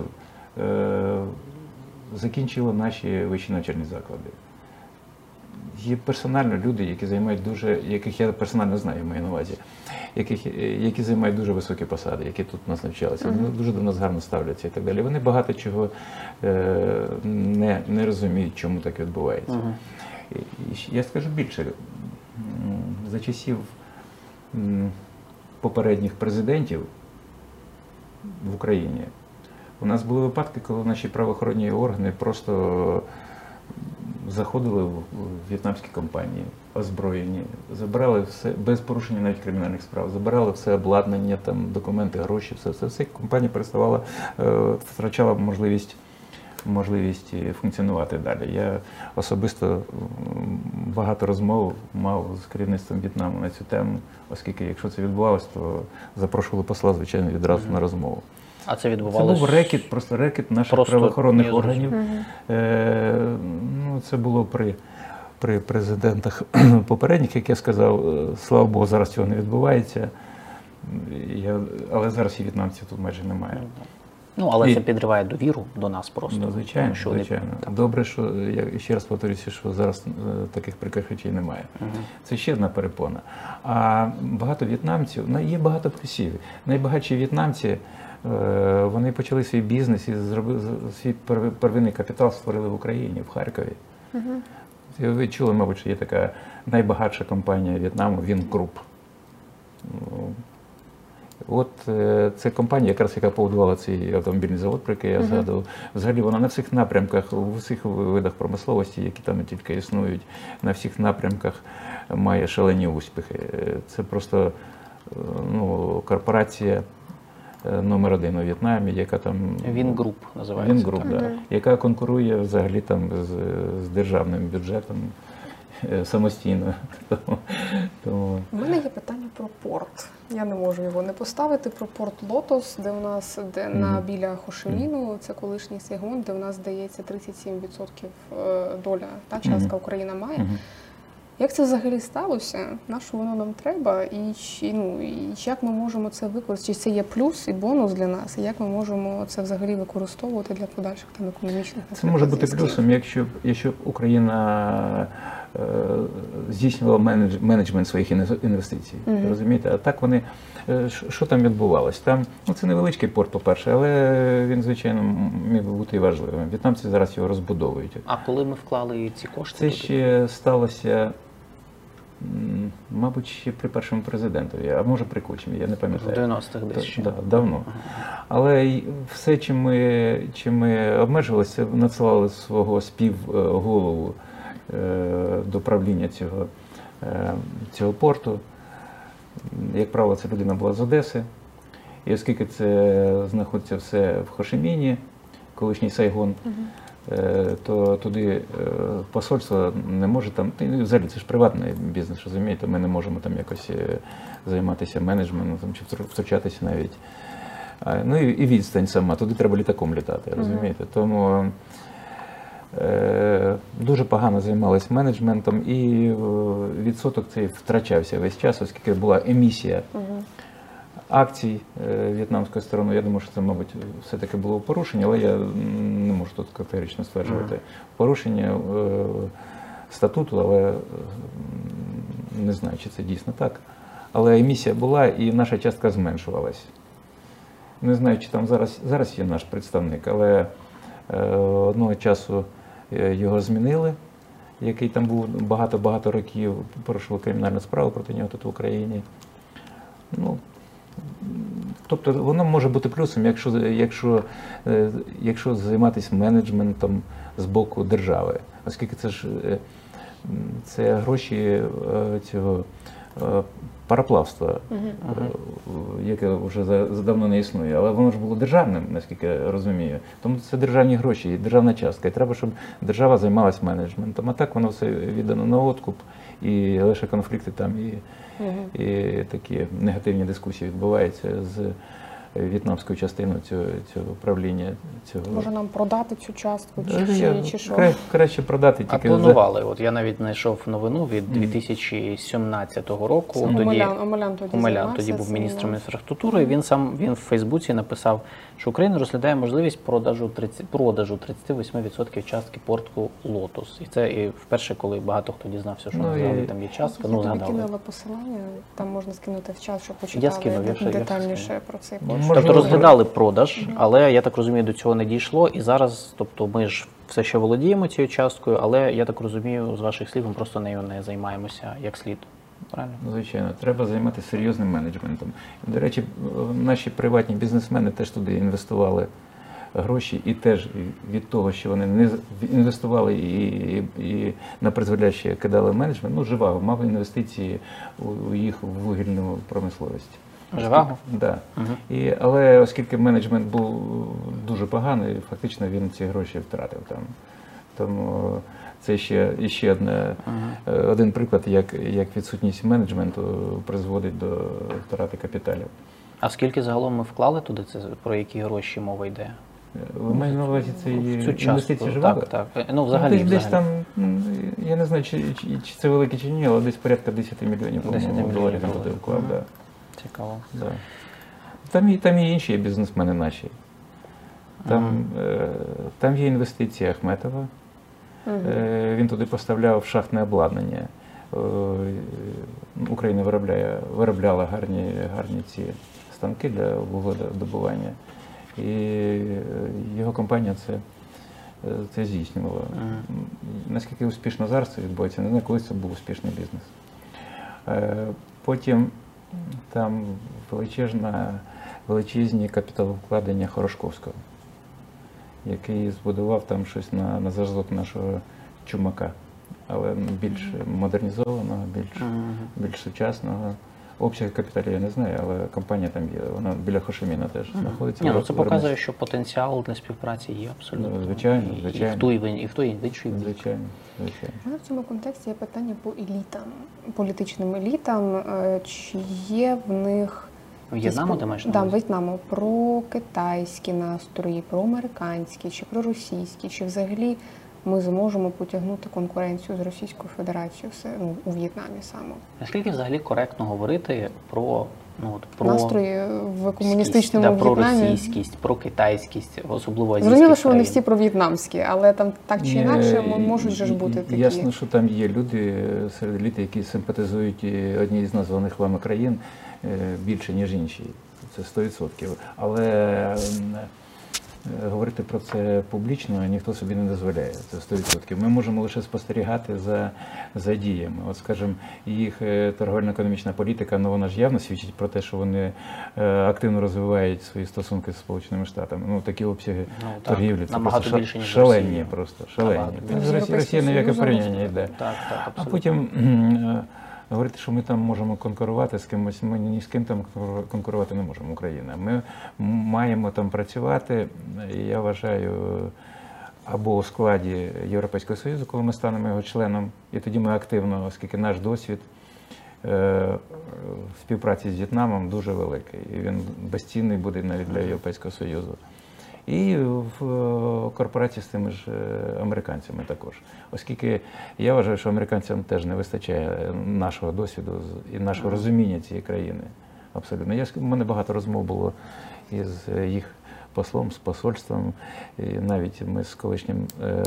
закінчили наші вищі навчальні заклади. Є персонально люди, які займають яких я персонально знаю, маю на увазі, які займають дуже високі посади, які тут у нас навчалися, дуже до нас гарно ставляться і так далі. Вони багато чого не розуміють, чому так відбувається. Я скажу більше, за часів попередніх президентів в Україні у нас були випадки, коли наші правоохоронні органи просто заходили в в'єтнамські компанії, озброєні, забирали все, без порушення навіть кримінальних справ, забирали все обладнання, там, документи, гроші, все. Компанія переставала, втрачала можливість функціонувати далі. Я особисто багато розмов мав з керівництвом В'єтнаму на цю тему, оскільки якщо це відбувалося, то запрошували посла, звичайно, відразу на розмову. А це відбувалося? Це був рекет наших правоохоронних органів. Ну, це було при президентах попередніх, як я сказав. Слава Богу, зараз цього не відбувається. Але зараз і в'єтнамців тут майже немає. Ну, але це підриває довіру до нас просто. Ну, звичайно, звичайно. Добре, що, я ще раз повторюся, що зараз таких прикрих речей немає. Це ще одна перепона. А багато в'єтнамців, є багато плюсів. Найбагатші в'єтнамці, вони почали свій бізнес і свій первинний капітал створили в Україні, в Харкові. Ви чули, мабуть, що є така найбагатша компанія В'єтнаму, Вінгруп. От це компанія, яка побудувала цей автомобільний завод, про який я згадував. Взагалі вона на всіх напрямках, у всіх видах промисловості, які там тільки існують, на всіх напрямках має шалені успіхи. Це просто корпорація номер 1 у В'єтнамі, яка там... Вінгруп називається. Вінгруп, так. Яка конкурує взагалі там з державним бюджетом самостійно. У мене є питання про порт. Я не можу його не поставити. Про порт Лотос, де у нас біля Хошиміну, це колишній Сайгон, де у нас, здається, 37% доля, та частка Україна має. Як це взагалі сталося? На що воно нам треба? І як ми можемо це використати? Чи це є плюс і бонус для нас? І як ми можемо це взагалі використовувати для подальших там економічних? Це може бути плюсом, якщо Україна здійснювала менеджмент своїх інвестицій. Розумієте? А так вони, що там відбувалось? Там, це невеличкий порт, по-перше, але він, звичайно, міг би бути і важливим. В'єтнамці зараз його розбудовують. А коли ми вклали ці кошти? Це ще сталося, мабуть, ще при першому президентові, а може при Кучмі, я не пам'ятаю. В 90-х десь ще. Так, давно. Але все, чим ми обмежувалися, надсилали свого співголову до правління цього порту. Як правило, ця людина була з Одеси. І оскільки це знаходиться все в Хошиміні, колишній Сайгон, то туди посольство не може там, взагалі це ж приватний бізнес, розумієте, ми не можемо там якось займатися менеджментом чи втручатися навіть. Ну і відстань сама, туди треба літаком літати, розумієте. Тому дуже погано займалися менеджментом і відсоток цей втрачався весь час, оскільки була емісія акцій в'єтнамської сторони. Я думаю, що це, мабуть, все-таки було порушення, але я не можу тут категорично стверджувати. Порушення статуту, але не знаю, чи це дійсно так. Але емісія була і наша частка зменшувалась. Не знаю, чи там зараз є наш представник, але одного часу його змінили, який там був багато-багато років, порушував кримінальну справу проти нього тут в Україні. Тобто воно може бути плюсом, якщо займатися менеджментом з боку держави. Оскільки це гроші цього пароплавства, яке вже давно не існує, але воно ж було державним, наскільки я розумію. Тому це державні гроші і державна частка. І треба, щоб держава займалась менеджментом. А так воно все віддано на откуп, і лише конфлікти там, і такі негативні дискусії відбуваються з в'єтнамською частиною цього правління. Може нам продати цю частку, чи що? Краще продати А тільки планували. От я навіть знайшов новину від 2017 року. Омелян тоді був міністром інфраструктури. І він в Фейсбуці написав, що Україна розглядає можливість продажу 38% частки порту Лотос. І це і вперше, коли багато хто дізнався, що взагалі там є частка. Я тобі кинула посилання, там можна скинути в чат, щоб почитали детальніше про цей порт. Тобто розглядали продаж, але я так розумію, до цього не дійшло. І зараз, тобто ми ж все ще володіємо цією часткою, але я так розумію, з ваших слів, ми просто нею не займаємося як слід. Правильно? Звичайно, треба займатися серйозним менеджментом. До речі, наші приватні бізнесмени теж туди інвестували гроші, і теж від того, що вони не інвестували і на призволяще кидали менеджмент, ну, Живаго мав інвестиції у їх вугільну промисловість. Живаго? Да. Але оскільки менеджмент був дуже поганий, фактично він ці гроші втратив там. Тому це ще один приклад, як відсутність менеджменту призводить до втрати капіталів. А скільки загалом ми вклали туди, це про які гроші мова йде? Ви маєте на увазі це інвестиції Живаго? Так. Ну, взагалі. Десь там, я не знаю, чи це велике чи ні, але десь порядка 10 мільйонів доларів він туди вклав. Да. Цікаво. Да. Там є інші бізнесмени наші. Там є інвестиції Ахметова. Він туди поставляв шахтне обладнання. Україна виробляла гарні ці станки для вугледобування. І його компанія це здійснювала. Наскільки успішно зараз це відбувається, не знаю, колись це був успішний бізнес. Потім там величезні капіталовкладення Хорошковського, який збудував там щось на зразок нашого Чумака, але більш модернізованого, більш сучасного. Обсяг капіталів я не знаю, але компанія там є, вона біля Хошиміна теж знаходиться. Це показує, що потенціал для співпраці є абсолютно. Звичайно. І в той, і в іншій. Звичайно. У мене в цьому контексті є питання по елітам, політичним елітам. Чи є в них... В'єтнаму ти маєш на увазі? увазі? В'єтнаму. Про китайські настрої, про американські, чи про російські, чи взагалі ми зможемо потягнути конкуренцію з Російською Федерацією у В'єтнамі саме. Наскільки взагалі коректно говорити про настрої в комуністичному В'єтнамі? Про російськість, про китайськість, особливо азійських Зрозуміло, що вони країн. всі про в'єтнамські, але там так чи інакше можуть же ж бути такі. Ясно, що там є люди серед еліти, які симпатизують одній з названих вами країн більше, ніж інші. Це 100%. Але говорити про це публічно ніхто собі не дозволяє, це 100%. Ми можемо лише спостерігати за діями. От, скажімо, їх торговельно-економічна політика, вона ж явно свідчить про те, що вони активно розвивають свої стосунки з Сполученими Штатами. Такі обсяги торгівлі, це просто шалені, шалені. Росія ніяке порівняння йде. А потім говорити, що ми там можемо конкурувати з кимось, ми ні з ким там конкурувати не можемо, Україна. Ми маємо там працювати, я вважаю, або у складі Європейського Союзу, коли ми станемо його членом, і тоді ми активно, оскільки наш досвід співпраці з В'єтнамом дуже великий, і він безцінний буде навіть для Європейського Союзу. І в корпорації з тими ж американцями також. Оскільки я вважаю, що американцям теж не вистачає нашого досвіду і нашого розуміння цієї країни. Абсолютно. У мене багато розмов було із їх послом, з посольством, і навіть ми з колишнім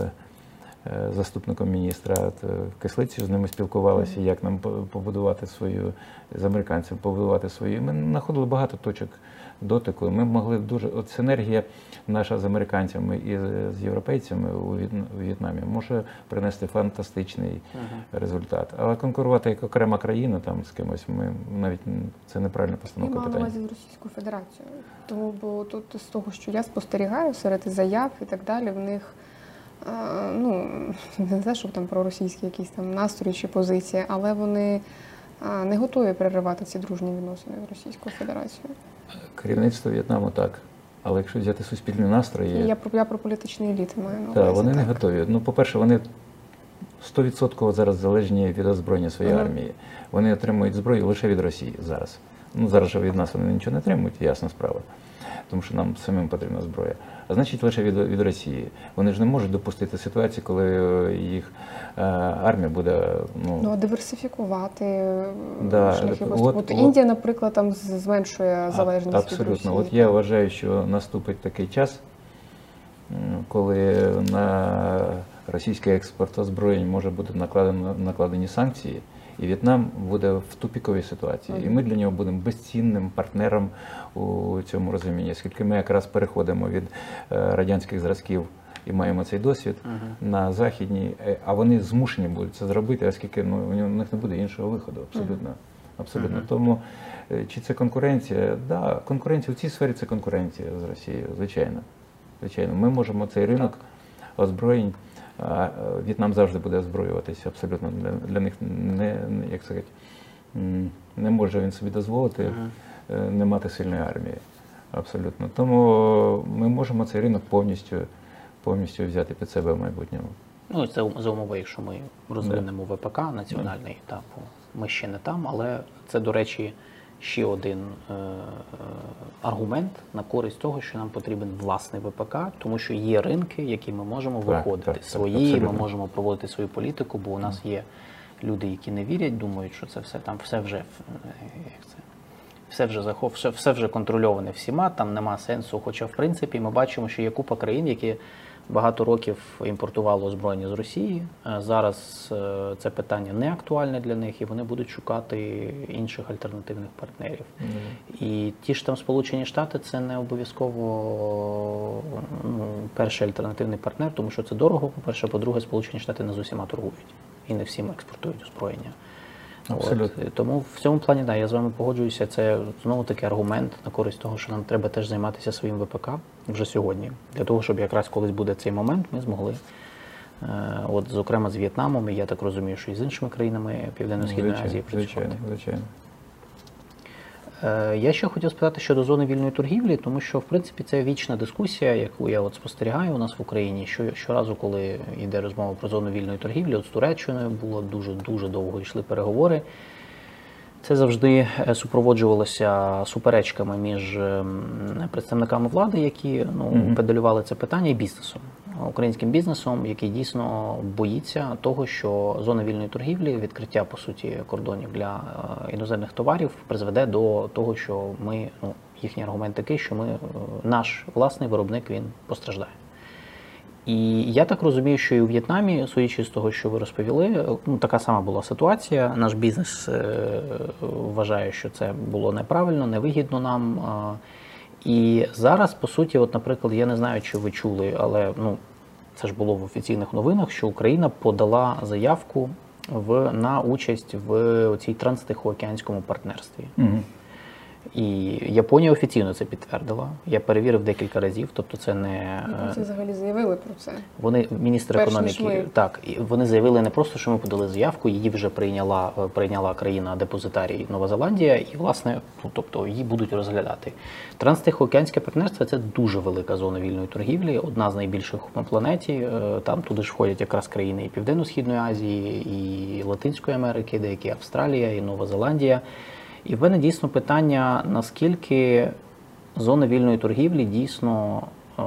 заступником міністра Кислицею з ними спілкувалися, як нам побудувати свою, з американцями побудувати свою. Ми знаходили багато точок дотику. Ми могли дуже, от синергія наша з американцями і з європейцями у В'єтнамі може принести фантастичний результат. Але конкурувати як окрема країна там з кимось, ми навіть це неправильна постановка питання. Я мала на увазі з Російською Федерацією. Тому, бо тут з того, що я спостерігаю серед заяв і так далі, в них не знаю, що там про російські якісь там настрої чи позиції, але вони не готові переривати ці дружні відносини з Російською Федерацією. Керівництво В'єтнаму так. Але якщо взяти суспільні настрої... Я про політичні еліти маю на увазі. Так, вони не готові. Ну, по-перше, вони 100% зараз залежні від озброєння своєї армії. Вони отримують зброю лише від Росії зараз. Ну, зараз же від нас вони нічого не отримують, ясна справа. Тому що нам самим потрібна зброя. А значить, лише від Росії. Вони ж не можуть допустити ситуацію, коли їх армія буде... Ну, а диверсифікувати да, шляхи поступу. Індія, наприклад, там зменшує залежність від Росії. Абсолютно. От я вважаю, що наступить такий час, коли на російський експорт озброєнь може бути накладені санкції, і В'єтнам буде в тупіковій ситуації. І ми для нього будемо безцінним партнером у цьому розумінні, оскільки ми якраз переходимо від радянських зразків і маємо цей досвід на західній, а вони змушені будуть це зробити, оскільки у них не буде іншого виходу. Абсолютно. Абсолютно. Тому чи це конкуренція? Да, конкуренція в цій сфері це конкуренція з Росією, звичайно. Звичайно, ми можемо цей ринок озброєнь. В'єтнам завжди буде озброюватися, абсолютно. Для них як сказати, не може він собі дозволити не мати сильної армії. Абсолютно. Тому ми можемо цей ринок повністю взяти під себе в майбутньому. Ну, це за умови, якщо ми розвинемо ВПК національний, ми ще не там, але це, до речі, ще один аргумент на користь того, що нам потрібен власний ВПК, тому що є ринки, які ми можемо виходити свої, ми можемо проводити свою політику, бо у нас є люди, які не вірять, думають, що це все вже контрольоване всіма, там нема сенсу. Хоча, в принципі, ми бачимо, що є купа країн, які багато років імпортували озброєння з Росії. Зараз це питання не актуальне для них, і вони будуть шукати інших альтернативних партнерів. І ті ж там Сполучені Штати – це не обов'язково перший альтернативний партнер, тому що це дорого, по-перше, по-друге, Сполучені Штати не з усіма торгують і не всім експортують озброєння. Тому в цьому плані, я з вами погоджуюся, це знову таки аргумент на користь того, що нам треба теж займатися своїм ВПК вже сьогодні, для того, щоб якраз колись буде цей момент, ми змогли, зокрема з В'єтнамом, і я так розумію, що і з іншими країнами Південно-Східної Азії працювати. Звичайно. Я ще хотів спитати щодо зони вільної торгівлі, тому що, в принципі, це вічна дискусія, яку я спостерігаю у нас в Україні. Щоразу, коли йде розмова про зону вільної торгівлі, з Туреччиною було дуже довго йшли переговори. Це завжди супроводжувалося суперечками між представниками влади, які педалювали це питання, і бізнесом. Українським бізнесом, який дійсно боїться того, що зона вільної торгівлі, відкриття, по суті, кордонів для іноземних товарів призведе до того, що їхній аргумент такий, що наш власний виробник, він постраждає. І я так розумію, що і у В'єтнамі, судячи з того, що ви розповіли, така сама була ситуація. Наш бізнес вважає, що це було неправильно, невигідно нам. І зараз, по суті, наприклад, я не знаю, чи ви чули, але це ж було в офіційних новинах, що Україна подала заявку на участь в цій транстихоокеанському партнерстві. І Японія офіційно це підтвердила. Я перевірив декілька разів, тобто це не... Це взагалі заявили про це. Вони, міністр економіки, вони заявили не просто, що ми подали заявку, її вже прийняла країна-депозитарій Нова Зеландія, і, власне, тобто її будуть розглядати. Транстихоокеанське партнерство – це дуже велика зона вільної торгівлі, одна з найбільших на планеті. Там туди ж входять якраз країни і Південно-Східної Азії, і Латинської Америки, деякі Австралія, і Нова Зеландія. І в мене дійсно питання, наскільки зона вільної торгівлі дійсно,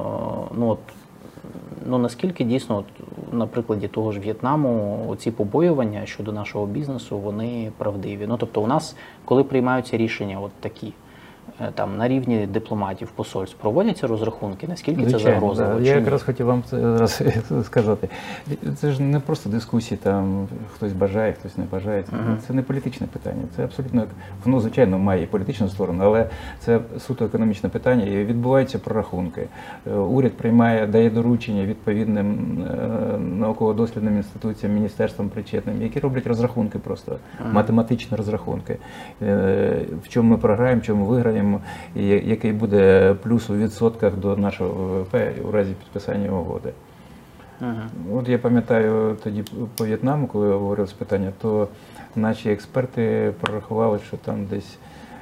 наскільки дійсно, на прикладі того ж В'єтнаму, ці побоювання щодо нашого бізнесу, вони правдиві. Тобто у нас, коли приймаються рішення такі, там на рівні дипломатів, посольств, проводяться розрахунки, наскільки це загрозливо? Я якраз хотів вам зараз сказати. Це ж не просто дискусії, там хтось бажає, хтось не бажає. Це не політичне питання. Це абсолютно, воно, звичайно, має політичну сторону, але це суто економічне питання і відбуваються прорахунки. Уряд дає доручення відповідним науково-дослідним інституціям, міністерствам причетним, які роблять розрахунки просто, математичні розрахунки. В чому ми програємо, в чому виграємо, і який буде плюс у відсотках до нашого ВВП у разі підписання угоди. От я пам'ятаю тоді по В'єтнаму, коли я говорив з питання, то наші експерти прорахували, що там десь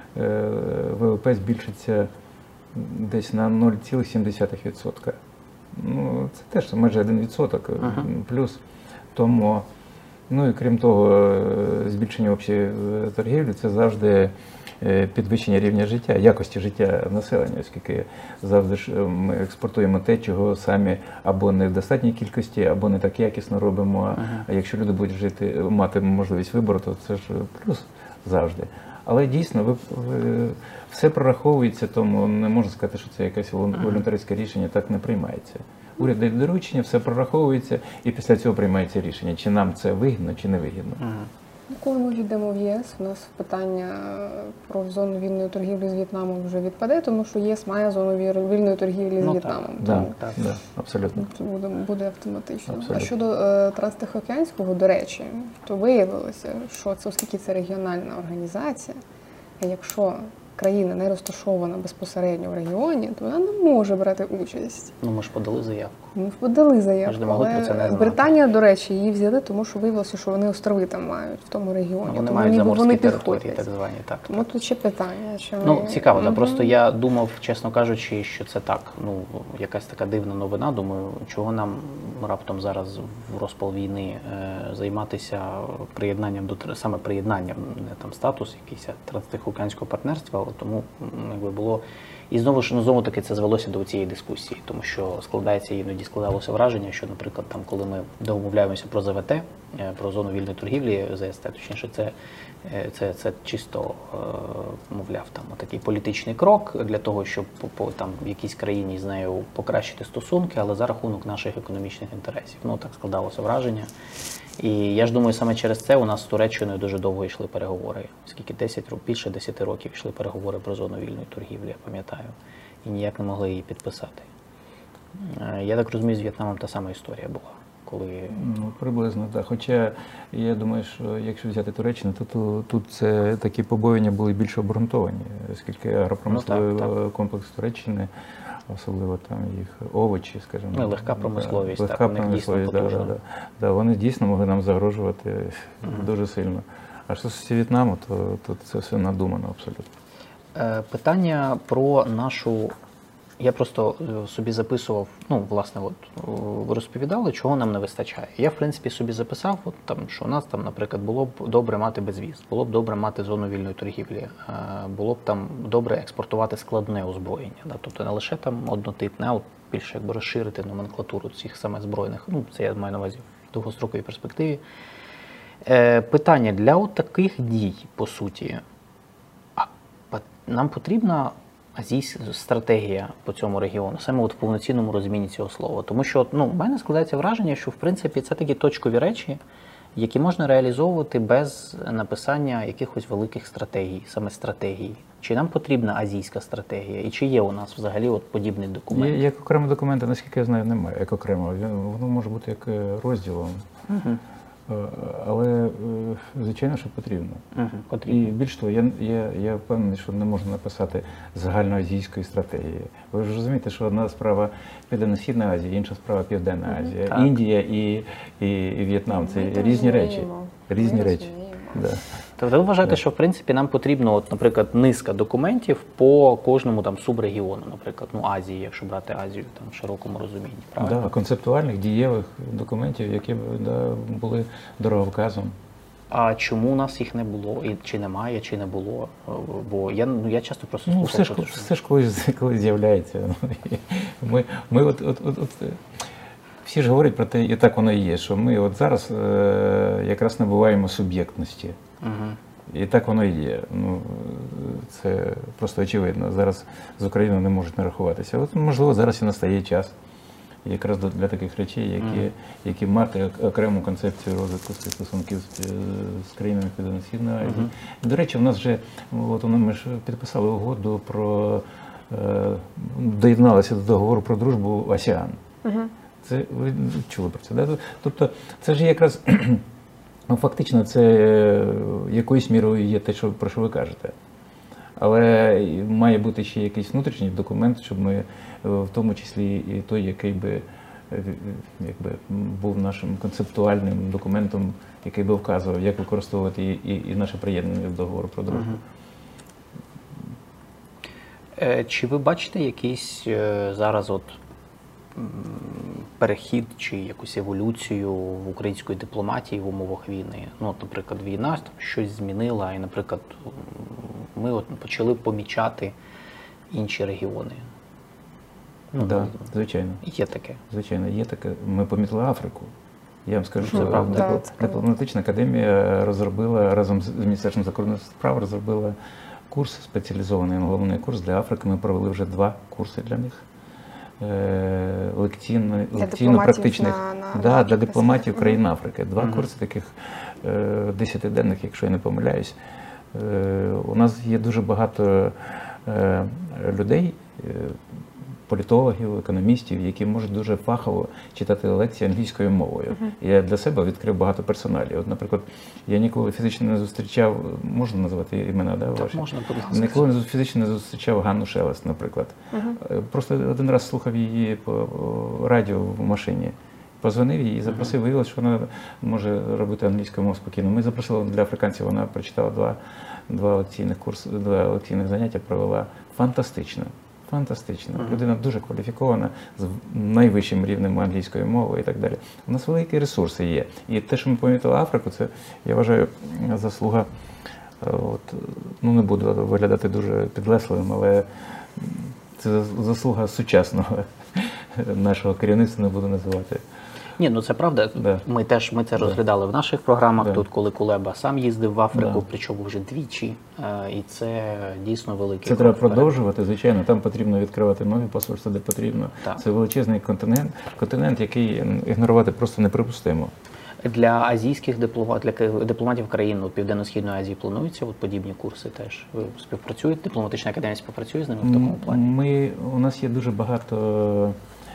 ВВП збільшиться десь на 0,7%. Ну, це теж майже 1% плюс. Тому, ну і крім того, збільшення общої торгівлі – це завжди підвищення рівня життя, якості життя населення, оскільки завжди ж ми експортуємо те, чого самі або не в достатній кількості, або не так якісно робимо. А якщо люди будуть жити, мати можливість вибору, то це ж плюс завжди. Але дійсно, все прораховується, тому не можна сказати, що це якесь волюнтаристське рішення, так не приймається. Уряд дає доручення, все прораховується, і після цього приймається рішення, чи нам це вигідно, чи не вигідно. Коли ми війдемо в ЄС, у нас питання про зону вільної торгівлі з В'єтнамом вже відпаде, тому що ЄС має зону вільної торгівлі з В'єтнамом. Так, абсолютно. Це буде автоматично. Абсолютно. А щодо Транстихоокеанського, до речі, то виявилося, що це, оскільки це регіональна організація, і якщо країна не розташована безпосередньо в регіоні, то вона не може брати участь. Ну, ми ж подали заявку. Ми подали Ми заявку, ж не могли про це не але знати. Британія, до речі, її взяли, тому що виявилося, що вони острови там мають в тому регіоні. Вони Тому мають ніби заморські вони території, підходять. так звані. Так, Тому тут ще питання. Чи Ну, ми- цікаво, Мгм. просто я думав, чесно кажучи, що це так, ну, якась така дивна новина. Думаю, чого нам раптом зараз в розпал війни займатися приєднанням саме приєднанням, не там статус якийсь транстихоокеанського партнерства, але тому якби було. І знову ж, ну, знову таки це звелося до цієї дискусії, тому що іноді складалося враження, що, наприклад, там, коли ми домовляємося про ЗВТ, про зону вільної торгівлі, ЗСТ, точніше, це чисто, мовляв, там такий політичний крок для того, щоб там в якійсь країні з нею покращити стосунки, але за рахунок наших економічних інтересів. Ну, так складалося враження. І я ж думаю, саме через це у нас з Туреччиною дуже довго йшли переговори. Скільки більше 10 років йшли переговори про зону вільної торгівлі, я пам'ятаю, і ніяк не могли її підписати. Я так розумію, з В'єтнамом та сама історія була. Коли... Ну, приблизно, так. Хоча я думаю, що якщо взяти Туреччину, то тут це такі побоювання були більш обґрунтовані, оскільки агропромисловий комплекс Туреччини, особливо там їх овочі, скажімо. Ну, легка промисловість, легка так, у них дійсно промисловість, потужна. Да, вони дійсно могли нам загрожувати дуже сильно. А що стосується В'єтнаму, то це все надумано абсолютно. Питання про нашу... Я просто собі записував, ну, власне, от ви розповідали, чого нам не вистачає. Я, в принципі, собі записав, от, там, що у нас, там, наприклад, було б добре мати безвіз, було б добре мати зону вільної торгівлі, було б там добре експортувати складне озброєння. Да? Тобто не лише там однотипне, а от більше якби розширити номенклатуру цих саме збройних, ну, це я маю на увазі в довгостроковій перспективі. Питання для от таких дій, по суті, нам потрібна стратегія по цьому регіону, саме от в повноцінному розумінні цього слова. Тому що, ну, в мене складається враження, що, в принципі, це такі точкові речі, які можна реалізовувати без написання якихось великих стратегій, саме стратегій. Чи нам потрібна азійська стратегія? І чи є у нас взагалі от подібний документ? Як окремого документа, наскільки я знаю, немає. Як окремого. Воно може бути як розділом. Але, звичайно, що потрібно. Потрібно. І більш того, я впевнений, що не можна написати загальноазійської стратегії. Ви ж розумієте, що одна справа Південно-Східна Азія, інша справа Південна Азія. Так. Індія і В'єтнам – це різні речі. Різні речі. Да. Тобто ви вважаєте, що в принципі нам потрібно, от, наприклад, низка документів по кожному там субрегіону, наприклад, ну Азії, якщо брати Азію там в широкому розумінні, правильно? Да, концептуальних, дієвих документів, які б були дороговказом. А чому у нас їх не було, і чи немає, чи не було? Бо я часто просто Ну, слухав, що все ж колись з'являється. Ми от всі ж говорять про те, і так воно і є, що ми от зараз якраз набуваємо суб'єктності. І так воно і є. Ну, це просто очевидно. Зараз з Україною не можуть не рахуватися. От, можливо, зараз і настає час якраз для таких речей, які мати окрему концепцію розвитку стосунків з країнами Південно-Східної Азії. До речі, в нас вже, от ми ж підписали угоду про, доєдналися до договору про дружбу АСЕАН. Це ви чули про це, да? Тобто це ж якраз, ну, фактично, це якоюсь мірою є те, про що ви кажете. Але має бути ще якийсь внутрішній документ, щоб ми, в тому числі і той, який би якби був нашим концептуальним документом, який би вказував, як використовувати і наше приєднання до договору про дружбу. Чи ви бачите якийсь зараз перехід чи якусь еволюцію в української дипломатії в умовах війни? Ну, от, наприклад, війна щось змінила, і, наприклад, ми почали помічати інші регіони. Ну, Да, звичайно. є таке. Звичайно, є таке. Ми помітили Африку. Я вам скажу, Це що правда. дипломатична академія розробила разом з Міністерством закордонних справ розробила курс спеціалізований, головний курс для Африки. Ми провели вже 2 курси для них. Лекційно-практичних для дипломатів країн Африки. 2 курси таких 10-денних, якщо я не помиляюсь. У нас є дуже багато людей, політологів, економістів, які можуть дуже фахово читати лекції англійською мовою. Я для себе відкрив багато персоналів. От, наприклад, я ніколи фізично не зустрічав, можна назвати імена, да, ваші? Можна, будь ласка. Ніколи фізично не зустрічав Ганну Шелест, наприклад. Просто один раз слухав її по радіо в машині. Позвонив їй і запросив, виявилося, що вона може робити англійською мовою спокійно. Ми запросили для африканців, вона прочитала 2 лекційних заняття, провела фантастично. Фантастично. Людина дуже кваліфікована, з найвищим рівнем англійської мови і так далі. У нас великі ресурси є. І те, що ми помітили Африку, це, я вважаю, заслуга, не буду виглядати дуже підлесливим, але це заслуга сучасного нашого керівництва, не буду називати. Ні, ну це правда. Да. Ми це розглядали в наших програмах. Да. Тут, коли Кулеба сам їздив в Африку, Да. причому вже 2 і це дійсно великий. Це треба продовжувати, звичайно. Там потрібно відкривати нові посольства, де потрібно. Так. Це величезний континент, який ігнорувати просто неприпустимо. Для азійських дипломатів країн Південно-Східної Азії плануються подібні курси теж? Ви співпрацюєте? Дипломатична академія співпрацює з ними в такому плані? У нас є дуже багато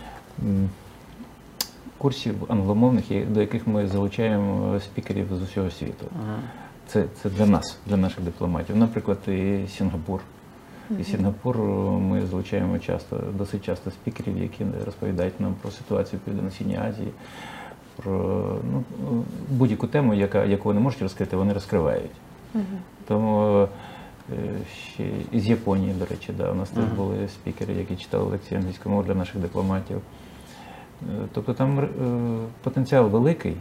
курсів англомовних, до яких ми залучаємо спікерів з усього світу. Це для нас, для наших дипломатів. Наприклад, і Сінгапур. І Сінгапур ми залучаємо досить часто спікерів, які розповідають нам про ситуацію в Південно-Східній Азії, про будь-яку тему, яку вони можуть розкрити, вони розкривають. Тому ще із Японії, до речі, у нас теж були спікери, які читали лекції англійської мови для наших дипломатів. Тобто там потенціал великий,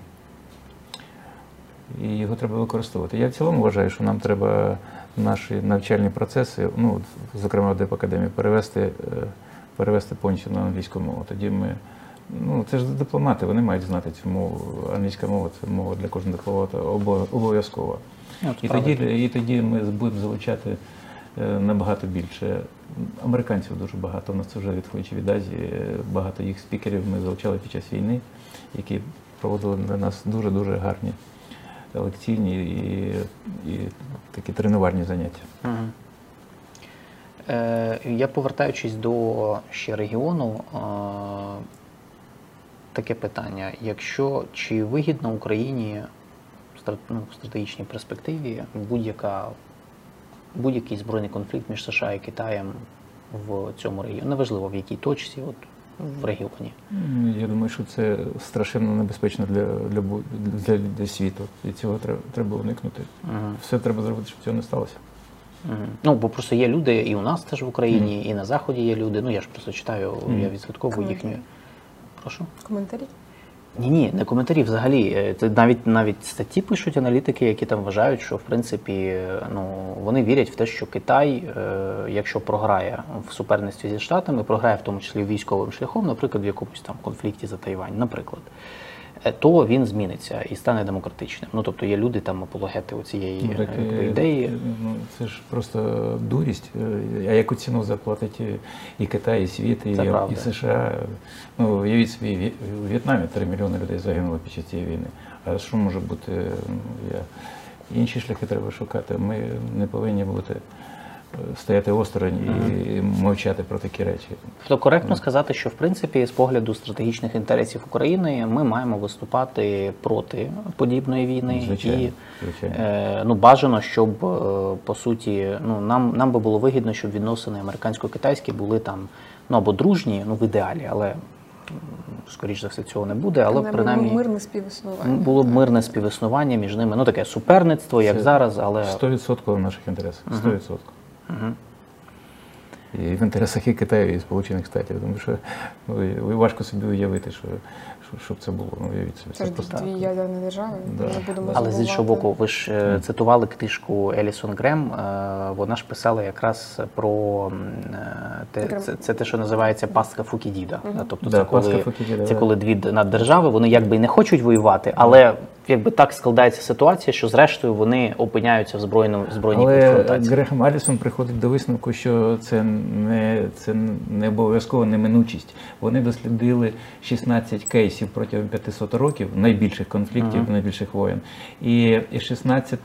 і його треба використовувати. Я в цілому вважаю, що нам треба наші навчальні процеси, зокрема в Дипакадемії, перевести повністю на англійську мову. Тоді ми, це ж дипломати, вони мають знати цю мову. Англійська мова – це мова для кожного дипломата обов'язкова. І тоді ми будемо залучати набагато більше. Американців дуже багато, у нас це вже відходячи від Азії, багато їх спікерів ми залучали під час війни, які проводили для нас дуже-дуже гарні лекційні і такі тренувальні заняття. Я, повертаючись до ще регіону, таке питання. Чи вигідно Україні в стратегічній перспективі будь-який збройний конфлікт між США і Китаєм в цьому регіоні? Неважливо, в якій точці, в регіоні. Я думаю, що це страшенно небезпечно для світу. І цього треба уникнути. Все треба зробити, щоб цього не сталося. Бо просто є люди і у нас теж в Україні, і на Заході є люди. Я ж просто читаю, я відслідковую їхню. Прошу? Коментарі? Ні, не коментарі взагалі. Це навіть статті пишуть аналітики, які там вважають, що в принципі вони вірять в те, що Китай, якщо програє в суперництві зі Штатами, програє в тому числі військовим шляхом, наприклад, в якомусь там конфлікті за Тайвань, наприклад, то він зміниться і стане демократичним. Тобто є люди там апологети цієї ідеї. Це ж просто дурість. А яку ціну заплатить і Китай, і світ, і США? Уявіть собі, у В'єтнамі 3 мільйони людей загинуло під час цієї війни. А що може бути? Інші шляхи треба шукати. Ми не повинні стояти осторонь і мовчати про такі речі. Тобто коректно сказати, що в принципі з погляду стратегічних інтересів України ми маємо виступати проти подібної війни. Звичайно. Бажано, щоб по суті, нам би було вигідно, щоб відносини американсько-китайські були там або дружні, в ідеалі, але скоріш за все, цього не буде, але принаймні мирне співіснування. було б мирне співіснування між ними. Ну, таке суперництво, як Це зараз, але... 100% в наших інтересах. 100%. І в інтересах і Китаю, і Сполучених Штатів. Тому що важко собі уявити, щоб це було. Ну, уявіть собі. Це ж дві ядерні держави. Да. Ми не будемо Але з іншого забувати. боку, ви ж цитували книжку Елісон Грем, вона ж писала якраз про це те, що називається пастка Фукідіда. Тобто Да, це пастка коли, Фукідіда, це да. коли дві наддержави, вони якби і не хочуть воювати, але якби так складається ситуація, що зрештою вони опиняються в збройній Але конфронтації. Грехем Алісон приходить до висновку, що це не обов'язково неминучість. Вони дослідили 16 кейсів протягом 500 років, найбільших конфліктів, найбільших воєн. І 16,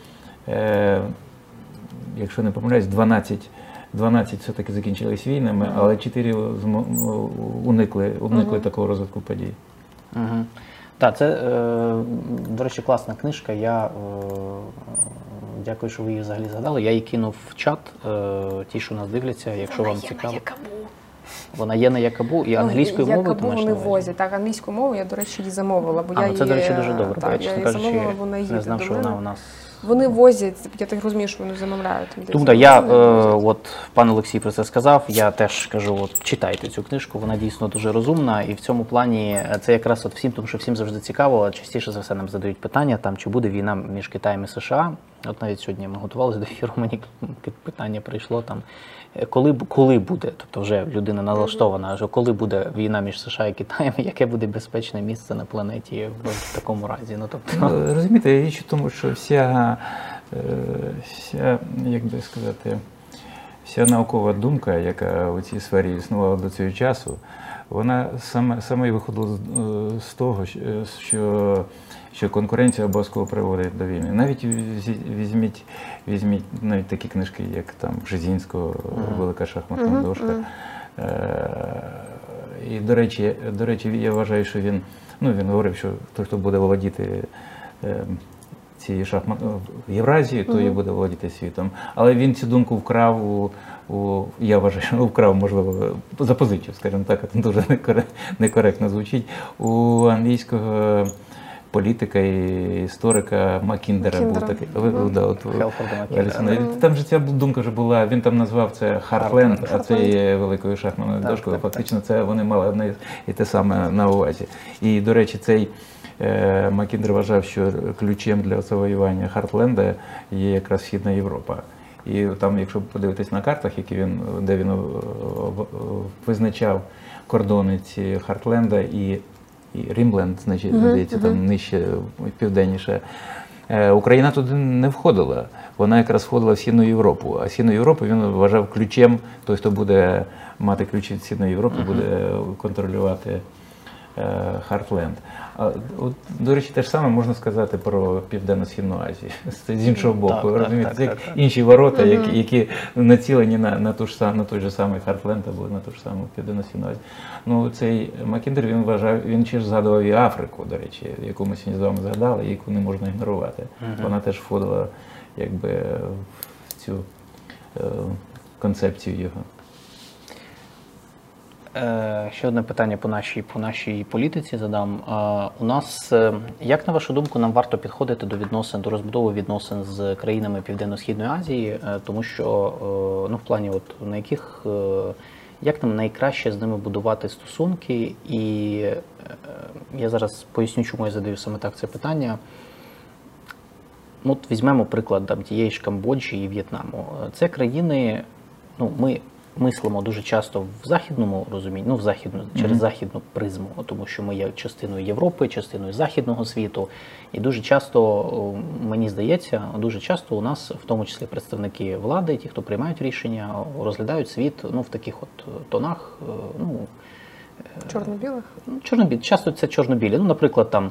якщо не помиляюсь, 12 все-таки закінчились війнами, але 4 уникли такого розвитку подій. Так, це, до речі, класна книжка. Я дякую, що ви її взагалі згадали. Я її кинув в чат, ті, що нас дивляться, якщо вам цікаво. Вона є на Якабу і англійською мовою. Якабу вони возять. Так, англійську мову я, до речі, її замовила. Бо це, до речі, дуже добре. Так, бо я, чесно кажучи, не знав, що вона у нас... Вони возять, я так розумію, що вони замовляють. Тому так, я, от пан Олексій про це сказав, я теж кажу, от читайте цю книжку, вона дійсно дуже розумна, і в цьому плані це якраз от всім, тому що всім завжди цікаво, частіше за все нам задають питання, там, чи буде війна між Китаєм і США. От навіть сьогодні ми готувалися до ефіру, мені питання прийшло там, коли буде, тобто вже людина налаштована, що коли буде війна між США і Китаєм, яке буде безпечне місце на планеті в такому разі. Ну, тобто... Розумієте, річ у тому, що вся, як би сказати, вся наукова думка, яка у цій сфері існувала до цього часу, вона саме і виходила з того, що конкуренція обов'язково приводить до війни. Навіть візьміть навіть такі книжки, як там Бжезінського «Велика шахматна дошка». І, до речі, я вважаю, що він говорив, що той, хто буде володіти цією Євразією, то і буде володіти світом. Але він цю думку вкрав я вважаю, що вкрав, можливо, запозичив, скажімо так, це дуже некоректно звучить, у англійського політика і історика Маккіндера був такий. Там же ця думка вже була, він там назвав це Хартленд, а це є великою шахматною дошкою. Фактично це вони мали одне і те саме на увазі. І, до речі, цей Маккіндер вважав, що ключем для завоювання Хартленда є якраз Східна Європа. І там, якщо подивитись на картах, де він визначав кордони ці Хартленда і Рімленд, значить, здається, там нижче, південніше. Україна туди не входила. Вона якраз входила в Східну Європу. А Східну Європу він вважав ключем, той, хто буде мати ключ від Східної Європи, буде контролювати Хартленд. До речі, те ж саме можна сказати про Південно-Східну Азію. З іншого боку, розумієте, це інші ворота, які націлені на той же самий Хартленд або на ту ж саму Південно-Східну Азію. Ну, цей Маккіндер, він вважав, він ще ж згадував і Африку, до речі, яку ми сьогодні з вами згадали, яку не можна ігнорувати. Вона теж входила якби в цю концепцію його. Ще одне питання по нашій політиці задам. У нас, як на вашу думку, нам варто підходити до розбудови відносин з країнами Південно-Східної Азії, тому що, в плані, як нам найкраще з ними будувати стосунки, і я зараз поясню, чому я задаю саме так це питання. От візьмемо приклад тієї ж Камбоджі і В'єтнаму. Це країни, ми мислимо дуже часто в західному розумінні, через західну призму, тому що ми є частиною Європи, частиною західного світу. І дуже часто, мені здається, у нас, в тому числі представники влади, ті, хто приймають рішення, розглядають світ в таких тонах. Чорно-білих? Часто це чорно-білі. Наприклад,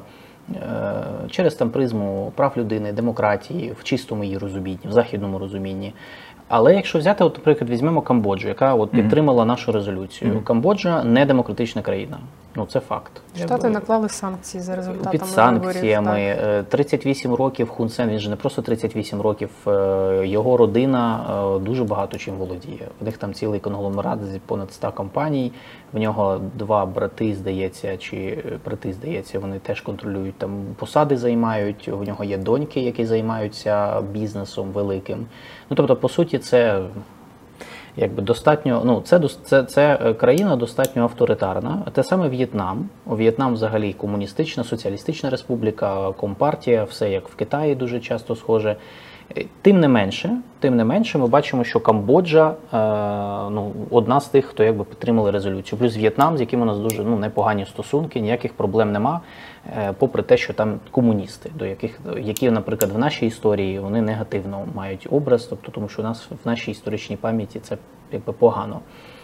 через призму прав людини, демократії, в чистому її розумінні, в західному розумінні. Але якщо взяти, от, наприклад, візьмемо Камбоджу, яка от підтримала нашу резолюцію. Камбоджа не демократична країна. Ну, це факт. Штати наклали санкції за результатами Під санкціями. 38 років Хун Сен, він же не просто 38 років, його родина дуже багато чим володіє. В них там цілий конгломерат з понад 100 компаній, в нього 2 брати, здається, вони теж контролюють, там посади займають, у нього є доньки, які займаються бізнесом великим. Ну, тобто, по суті, це якби достатньо, ну, це країна достатньо авторитарна. Те саме В'єтнам. В'єтнам взагалі комуністична, соціалістична республіка, компартія, все як в Китаї дуже часто схоже. Тим не менше, ми бачимо, що Камбоджа одна з тих, хто якби підтримали резолюцію. Плюс В'єтнам, з яким у нас дуже непогані стосунки, ніяких проблем нема, попри те, що там комуністи, які, наприклад, в нашій історії вони негативно мають образ, тобто тому що у нас в нашій історичній пам'яті це якби погано.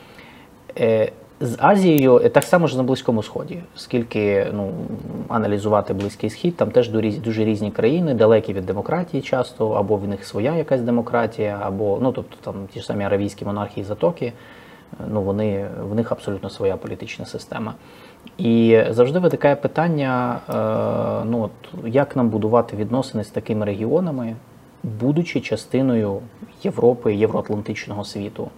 З Азією так само ж на Близькому Сході, скільки аналізувати Близький Схід, там теж дуже різні країни, далекі від демократії часто, або в них своя якась демократія, або тобто там ті ж самі аравійські монархії Затоки, в них абсолютно своя політична система. І завжди виникає питання, як нам будувати відносини з такими регіонами, будучи частиною Європи, євроатлантичного світу.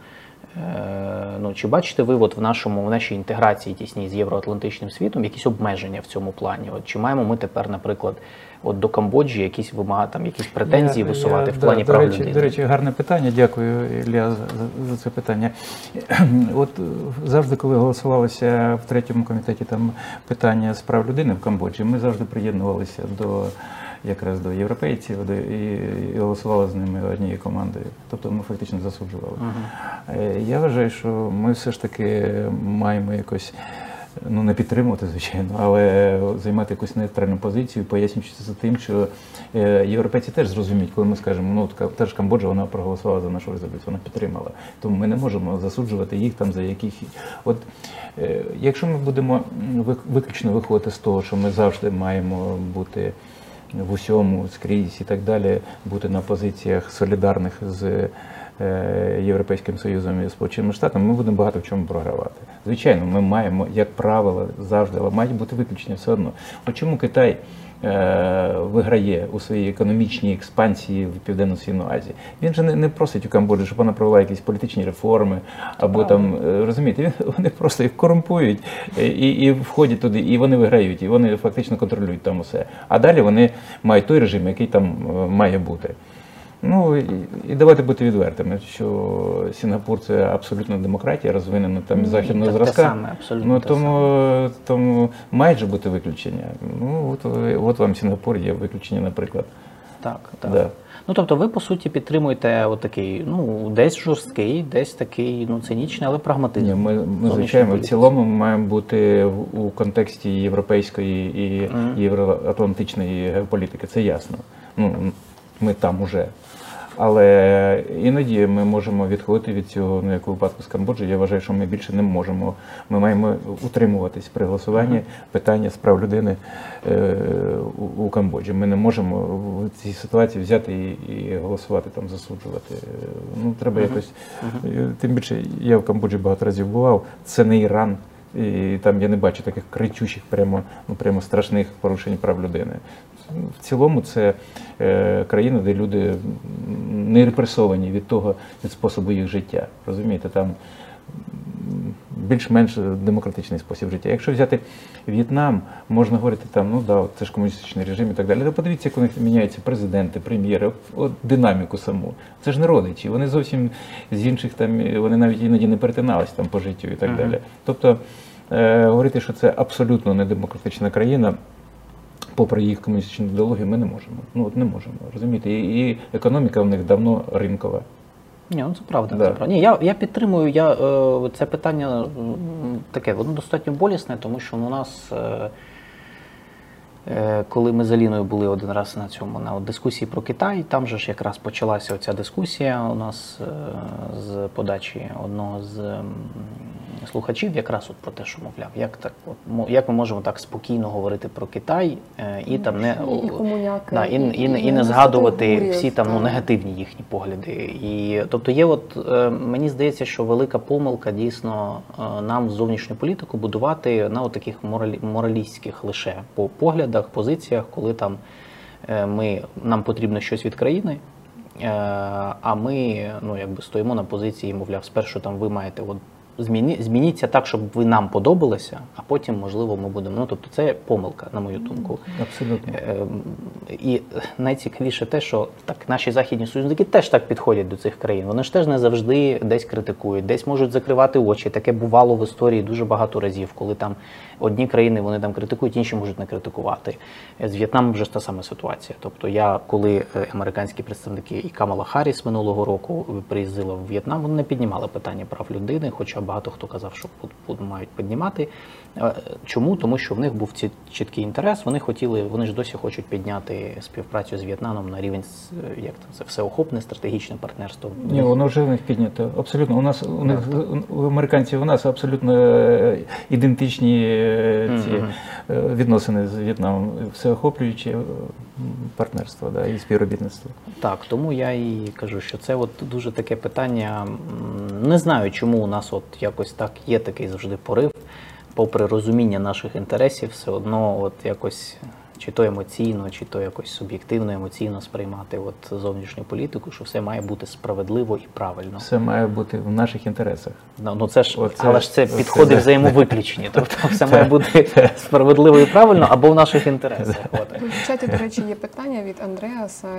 Чи бачите ви в нашій інтеграції тісній з євроатлантичним світом якісь обмеження в цьому плані? Чи маємо ми тепер, наприклад, до Камбоджі якісь претензії висувати в плані прав людини? До речі, гарне питання. Дякую, Ілля, за це питання. От завжди, коли голосувалося в 3-му комітеті там питання з прав людини в Камбоджі, ми завжди приєднувалися якраз до європейців і голосували з ними однією командою. Тобто ми фактично засуджували. Я вважаю, що ми все ж таки маємо якось, не підтримувати, звичайно, але займати якусь нейтральну позицію, пояснюючи це тим, що європейці теж зрозуміють, коли ми скажемо, теж Камбоджа, вона проголосувала за нашу резолюцію, вона підтримала. Тому ми не можемо засуджувати їх там за яких... От якщо ми будемо виключно виходити з того, що ми завжди маємо бути в усьому, скрізь і так далі, бути на позиціях солідарних з Європейським Союзом і Сполученими Штатами, ми будемо багато в чому програвати. Звичайно, ми маємо, як правило, завжди, але мають бути виключення все одно. От чому Китай виграє у своїй економічній експансії в Південно-Східну Азію? Він же не просить у Камбоджі, щоб вона провела якісь політичні реформи, або там, розумієте, вони просто їх корумпують і входять туди, і вони виграють, і вони фактично контролюють там усе. А далі вони мають той режим, який там має бути. І давайте бути відвертими, що Сінгапур – це абсолютно демократія, розвинена там західного зразка. Тому мають же бути виключення. От вам Сінгапур є виключення, наприклад. Так. Да. Тобто ви, по суті, підтримуєте отакий, десь жорсткий, десь такий, цинічний, але прагматичний. Ми звичайно, в цілому ми маємо бути у контексті європейської і євроатлантичної геополітики, це ясно. Ми там уже. Але іноді ми можемо відходити від цього, як у випадку з Камбоджі. Я вважаю, що ми більше не можемо. Ми маємо утримуватись при голосуванні питання з прав людини у Камбоджі. Ми не можемо в цій ситуації взяти і голосувати, там, засуджувати. Треба якось... Тим більше, я в Камбоджі багато разів бував. Це не Іран. І там я не бачу таких кричущих, прямо страшних порушень прав людини. В цілому це країна, де люди не репресовані від способу їх життя. Розумієте, там більш-менш демократичний спосіб життя. Якщо взяти В'єтнам, можна говорити там, це ж комуністичний режим і так далі. Подивіться, як у них міняються президенти, прем'єри, динаміку саму. Це ж не родичі, вони зовсім з інших вони навіть іноді не перетинались там по життю і так далі. Тобто говорити, що це абсолютно не демократична країна, попри їх комуністичну ідеологію, ми не можемо. Не можемо, розумієте? І економіка в них давно ринкова. Ні, це правда. Да. Це правда. Ні, я підтримую, це питання таке, воно достатньо болісне, тому що у нас Коли ми з Аліною були один раз на дискусії про Китай, там же ж якраз почалася оця дискусія у нас з подачі одного з слухачів, якраз от про те, що, мовляв, як ми можемо так спокійно говорити про Китай і там не згадувати всі там негативні їхні погляди. І тобто є мені здається, що велика помилка дійсно нам зовнішню політику будувати на таких моралістських лише поглядах, позиціях, коли там нам потрібно щось від країни, а ми стоїмо на позиції, мовляв, спершу там ви маєте змініться так, щоб ви нам подобалися, а потім, можливо, ми будемо. Тобто це помилка, на мою думку. Абсолютно. І найцікавіше те, що наші західні союзники теж так підходять до цих країн. Вони ж теж не завжди десь критикують, десь можуть закривати очі. Таке бувало в історії дуже багато разів, коли там одні країни вони там критикують, інші можуть не критикувати. З В'єтнамом вже ж та сама ситуація. Тобто коли американські представники і Камала Харріс минулого року приїздила в В'єтнам, вони не піднімали питання прав людини, хоча багато хто казав, що мають піднімати. Чому? Тому що в них був чіткий інтерес, вони ж досі хочуть підняти співпрацю з В'єтнамом на рівень, всеохопне стратегічне партнерство. Ні, воно вже в них піднято. Абсолютно. У американців у нас абсолютно ідентичні ці відносини з В'єтнамом, всеохоплююче партнерство і співробітництво. Так, тому я і кажу, що це дуже таке питання. Не знаю, чому у нас якось так є такий завжди порив, попри розуміння наших інтересів, все одно якось чи то емоційно, чи то якось суб'єктивно, емоційно сприймати зовнішню політику, що все має бути справедливо і правильно. Все має бути в наших інтересах. Але ж це підходи взаємовиключені. Тобто все має бути справедливо і правильно або в наших інтересах. В чаті, до речі, є питання від Андреаса,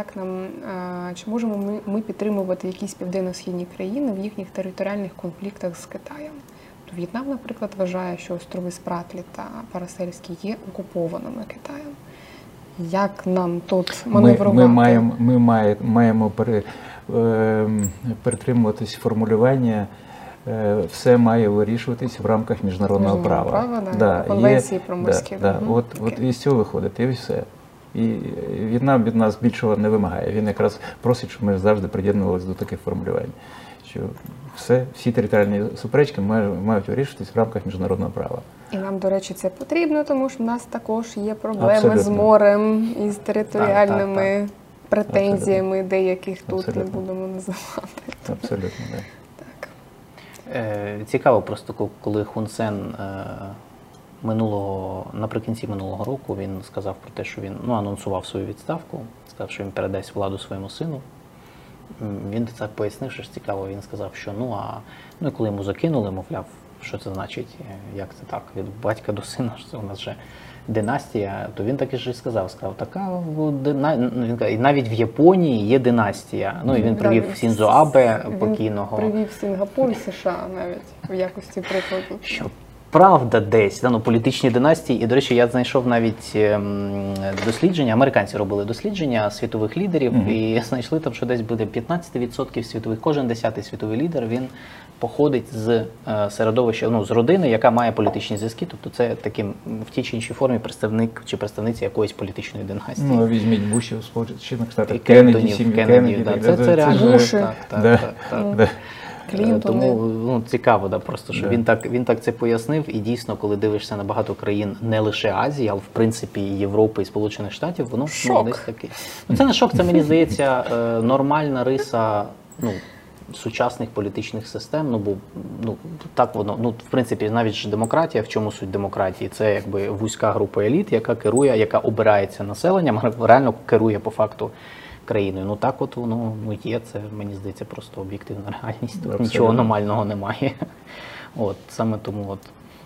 чи можемо ми підтримувати якісь південно-східні країни в їхніх територіальних конфліктах з Китаєм? В'єтнам, наприклад, вважає, що острови Спратлі та Парасельські є окупованими Китаєм. Як нам тут маневрувати? Ми маємо притримуватись формулювання «все має вирішуватись в рамках міжнародного права». Конвенції про морські. От із цього виходить, і все. І В'єтнам від нас більшого не вимагає. Він якраз просить, щоб ми завжди приєднувалися до таких формулювань. Що всі територіальні суперечки мають вирішуватись в рамках міжнародного права. І нам, до речі, це потрібно, тому що в нас також є проблеми з морем і з територіальними претензіями, деяких тут не будемо називати. Абсолютно, так. Цікаво просто, коли Хун Сен наприкінці минулого року він сказав про те, що він анонсував свою відставку, сказав, що він передасть владу своєму сину. Він так пояснив, що ж цікаво, він сказав, що і коли йому закинули, мовляв, що це значить, як це так, від батька до сина, що це у нас вже династія, то він так і ж сказав, і навіть в Японії є династія. І він привів Сіндзо Абе покійного. Він привів Сінгапур і США навіть в якості прикладу. Правда десь, політичні династії. І, до речі, я знайшов навіть дослідження, американці робили дослідження світових лідерів, і знайшли там, що десь буде 15% світових, кожен 10-й світовий лідер, він походить з середовища, з родини, яка має політичні зв'язки, тобто це таким в тій чи іншій формі представник чи представниця якоїсь політичної династії. Візьміть Бушів, Сполучених Штатів, Кеннеді, сім'ю Кеннеді. Це реально. Так. Тому цікаво, просто що він так це пояснив, і дійсно, коли дивишся на багато країн не лише Азії, але в принципі і Європи, і Сполучених Штатів, воно десь таке. Це не шок, це, мені здається, нормальна риса сучасних політичних систем, бо так воно, в принципі, навіть ж демократія, в чому суть демократії? Це якби вузька група еліт, яка керує, яка обирається населенням, реально керує по факту країною. Так воно є, це, мені здається, просто об'єктивна реальність. Тут нічого аномального немає. Саме тому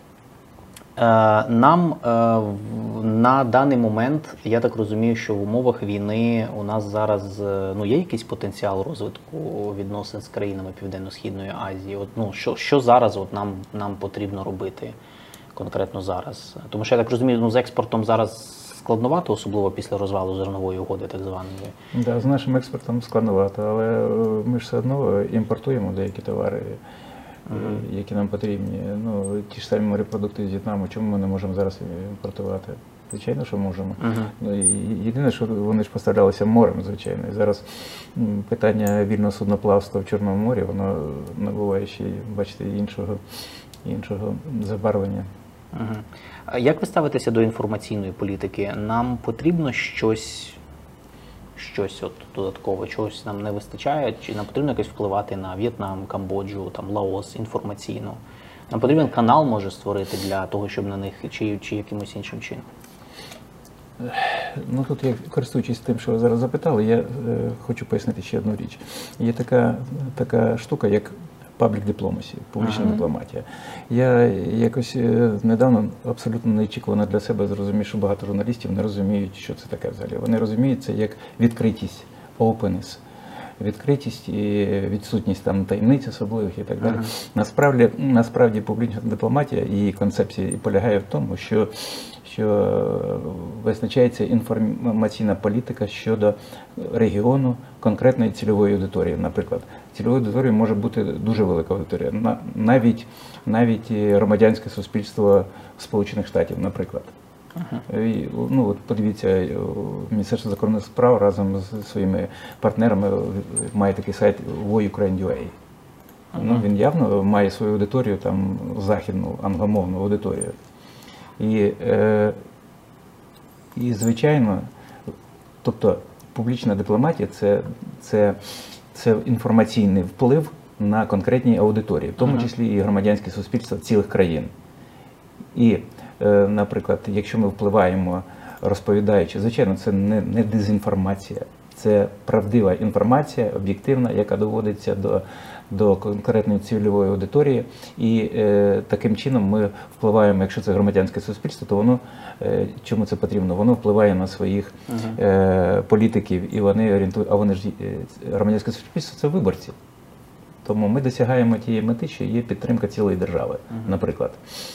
нам на даний момент, я так розумію, що в умовах війни у нас зараз є якийсь потенціал розвитку відносин з країнами Південно-Східної Азії. Що зараз нам потрібно робити конкретно зараз? Тому що, я так розумію, з експортом зараз складновато, особливо після розвалу зернової угоди, так званої. З нашим експортом складновато, але ми ж все одно імпортуємо деякі товари. які нам потрібні. Ну, ті ж самі морепродукти з В'єтнаму, чому ми не можемо зараз імпортувати? Звичайно, що можемо. Ну, і єдине, що вони ж поставлялися морем, звичайно. І зараз питання вільного судноплавства в Чорному морі, воно набуває ще, бачите, іншого забарвлення. А як ви ставитеся до інформаційної політики? Нам потрібно щось от додатково, чогось нам не вистачає, чи нам потрібно якось впливати на В'єтнам, Камбоджу, там, Лаос інформаційно? Нам потрібен канал може створити для того, щоб на них, чи якимось іншим чином? Ну тут, я користуючись тим, що ви зараз запитали, я хочу пояснити ще одну річ. Є така штука, як public diplomacy, публічна дипломатія. Я якось недавно абсолютно неочікувано для себе зрозумів, що багато журналістів не розуміють, що це таке взагалі. Вони розуміють це як відкритість, openness, відкритість і відсутність там таємниць особливих і так далі. Насправді публічна дипломатія, її концепція полягає в тому, що визначається інформаційна політика щодо регіону конкретної цільової аудиторії. Наприклад, цільовою аудиторією може бути дуже велика аудиторія, навіть громадянське суспільство Сполучених Штатів, наприклад. І, ну, от подивіться, Міністерство закордонних справ разом з своїми партнерами має такий сайт voyukraine.ua. Ну, він явно має свою аудиторію, там, західну, англомовну аудиторію. І звичайно, тобто публічна дипломатія це інформаційний вплив на конкретні аудиторії, в тому числі і громадянське суспільство цілих країн. І, наприклад, якщо ми впливаємо, розповідаючи, звичайно, це не дезінформація, це правдива інформація, об'єктивна, яка доводиться до конкретної цільової аудиторії, і таким чином ми впливаємо, якщо це громадянське суспільство, то воно, чому це потрібно? Воно впливає на своїх політиків, і вони орієнтують, а вони ж, громадянське суспільство – це виборці. Тому ми досягаємо тієї мети, що є підтримка цілої держави, наприклад.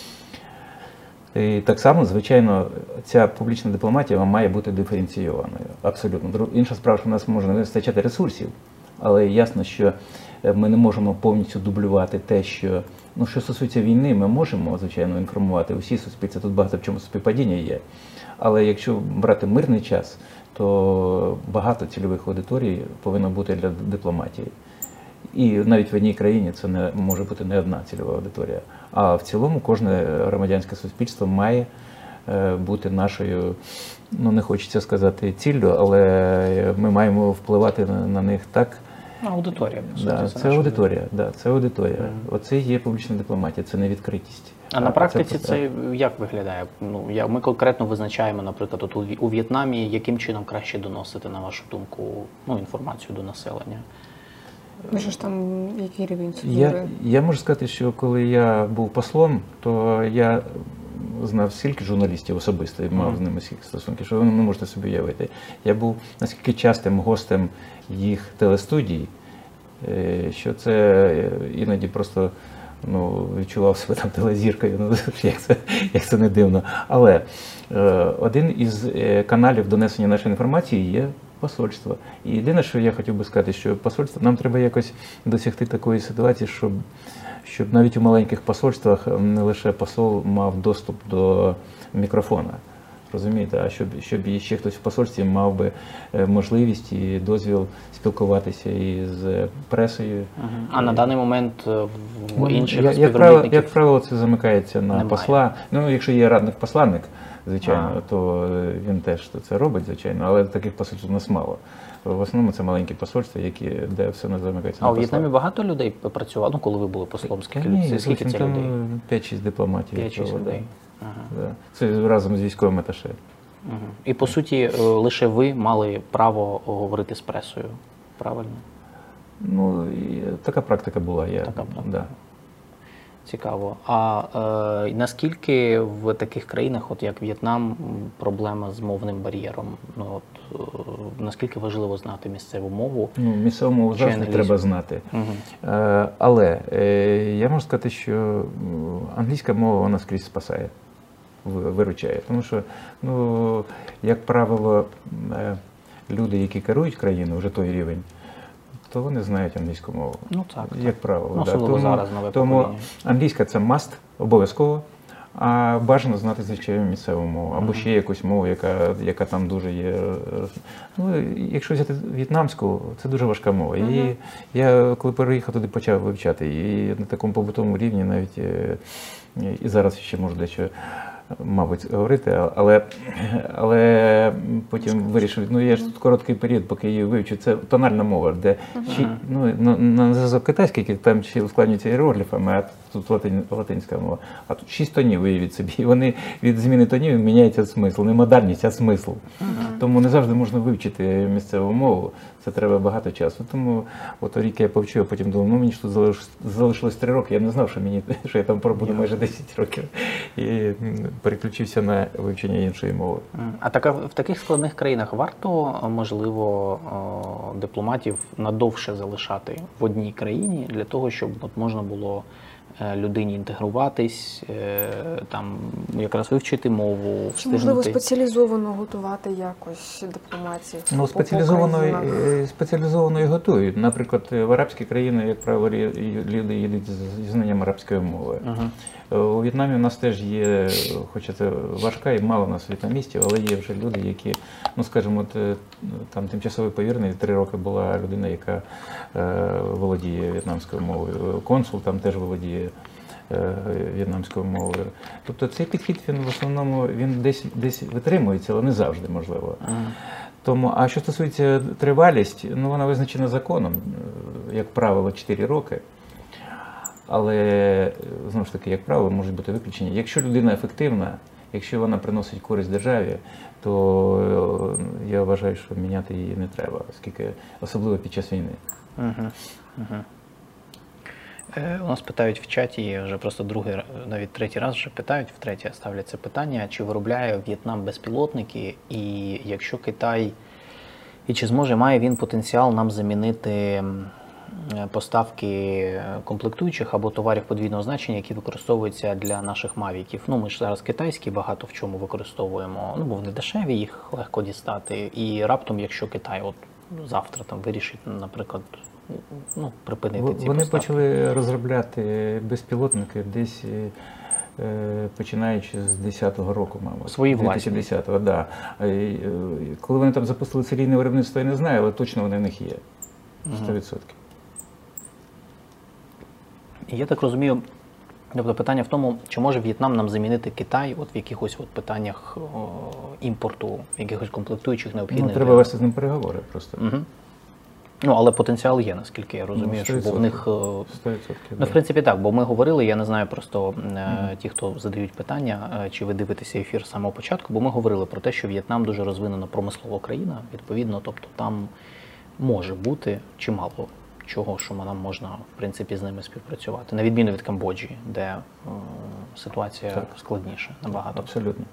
І так само, звичайно, ця публічна дипломатія має бути диференційованою. Абсолютно. Інша справа, що в нас може не вистачати ресурсів, але ясно, що ми не можемо повністю дублювати те, що, ну, що стосується війни, ми можемо, звичайно, інформувати усі суспільства, тут багато в чому співпадіння є. Але якщо брати мирний час, то багато цільових аудиторій повинно бути для дипломатії. І навіть в одній країні це не може бути не одна цільова аудиторія. А в цілому кожне громадянське суспільство має бути нашою, ну не хочеться сказати ціллю, але ми маємо впливати на них так. Аудиторія, по суті. Да, це аудиторія, да, це аудиторія. Оце є публічна дипломатія, це не відкритість. А на практиці це як виглядає? Ну, ми конкретно визначаємо, наприклад, от у В'єтнамі, яким чином краще доносити, на вашу думку, ну, інформацію до населення? Вже ж там який рівень цензури? Я можу сказати, що коли я був послом, то я знав стільки журналістів особисто і мав з ними стільки стосунків, що ви не можете собі уявити. Я був наскільки частим гостем їх телестудій, що це іноді просто, ну, відчував себе там телезіркою, ну, як це не дивно. Але один із каналів донесення нашої інформації є посольство. І єдине, що я хотів би сказати, що посольство, нам треба якось досягти такої ситуації, щоб навіть у маленьких посольствах не лише посол мав доступ до мікрофона. Розумієте, а щоб ще хтось в посольстві мав би можливість і дозвіл спілкуватися із пресою. А на даний момент в інших співробітників? Як правило, це замикається на посла. Ну, якщо є радник-посланник, звичайно, то він теж це робить, звичайно, але таких посольств у нас мало. В основному це маленькі посольства, де все не замикається на посла. А у В'єтнамі багато людей працювало, ну, коли ви були послом? Скільки це людей? 5-6 дипломатів. 5-6 людей. Да. Це разом з військовим аташе. І, по суті, лише ви мали право говорити з пресою, правильно? Ну, така практика була. Така практика. Да. Цікаво. А наскільки в таких країнах, от як В'єтнам, проблема з мовним бар'єром? Ну, от, наскільки важливо знати місцеву мову? Ну, місцеву мову завжди треба знати. Але я можу сказати, що англійська мова вона скрізь спасає, виручає. Тому що, ну, як правило, люди, які керують країною, вже той рівень, то вони знають англійську мову. Ну так. Як правило. Ну, да. особливо зараз нове тому покоління. англійська це must, обов'язково. А бажано знати, звичайно, місцеву мову, або ще якусь мову, яка там дуже є. Ну, якщо взяти в'єтнамську, це дуже важка мова. І я, коли переїхав туди, почав вивчати. І на такому побутовому рівні навіть і зараз ще можу дещо, мабуть, говорити, але потім вирішив, ну я ж тут короткий період, поки її вивчу, це тональна мова, де на зв'язок китайський, який там ще ускладнюється іерогліфами, а тут латинська мова. А тут 6 тонів, уявіть собі, і вони від зміни тонів міняється смисл, не модальність, а смисл. Тому не завжди можна вивчити місцеву мову, це треба багато часу. Тому от рік я повчу, а потім думав, ну мені ж тут залишилось 3 роки, я не знав, що я там пробуду майже 10 років. І переключився на вивчення іншої мови. А в таких складних країнах варто, можливо, дипломатів надовше залишати в одній країні для того, щоб можна було людині інтегруватись, там якраз вивчити мову, Чи, можливо, спеціалізовано готувати якось дипломатів? Ну, спеціалізовано і готують. Наприклад, в арабські країни, як правило, люди їдуть зі знанням арабської мови. У В'єтнамі у нас теж є, хоча це важка і мало у нас в'єтнамістів, але є вже люди, які, ну скажімо, там тимчасовий повірений, 3 роки була людина, яка володіє в'єтнамською мовою. Консул там теж володіє в'єтнамською мовою. Тобто цей підхід, він в основному десь витримується, але не завжди можливо. Тому, а що стосується тривалість, ну вона визначена законом, як правило, 4 роки. Але, знову ж таки, як правило, можуть бути виключення. Якщо людина ефективна, якщо вона приносить користь державі, то я вважаю, що міняти її не треба, оскільки, особливо під час війни. У нас питають в чаті, вже просто другий, навіть третій раз вже питають, втретє ставлять це питання, чи виробляє В'єтнам безпілотники, і якщо Китай, і чи має він потенціал нам замінити поставки комплектуючих або товарів подвійного значення, які використовуються для наших мавіків. Ну, ми ж зараз китайські багато в чому використовуємо, ну, бо вони дешеві, їх легко дістати. І раптом, якщо Китай от завтра там вирішить, наприклад, ну, припинити ці поставки. Вони почали розробляти безпілотники десь починаючи з 10-го року, мабуть. Свої власні. 2010-го, да. Коли вони там запустили серійне виробництво, я не знаю, але точно вони в них є. 100%. І я так розумію, тобто питання в тому, чи може В'єтнам нам замінити Китай от в якихось от питаннях імпорту, якихось комплектуючих необхідних? Ну, треба вести з ним переговори просто. Ну, але потенціал є, наскільки я розумію, що в них... 100%. Ну, в принципі, так, бо ми говорили, я не знаю просто ті, хто задають питання, чи ви дивитеся ефір з самого початку, бо ми говорили про те, що В'єтнам дуже розвинена промислова країна, відповідно, тобто там може бути чимало чого, що нам можна, в принципі, з ними співпрацювати. На відміну від Камбоджі, де ситуація складніша набагато. Абсолютно.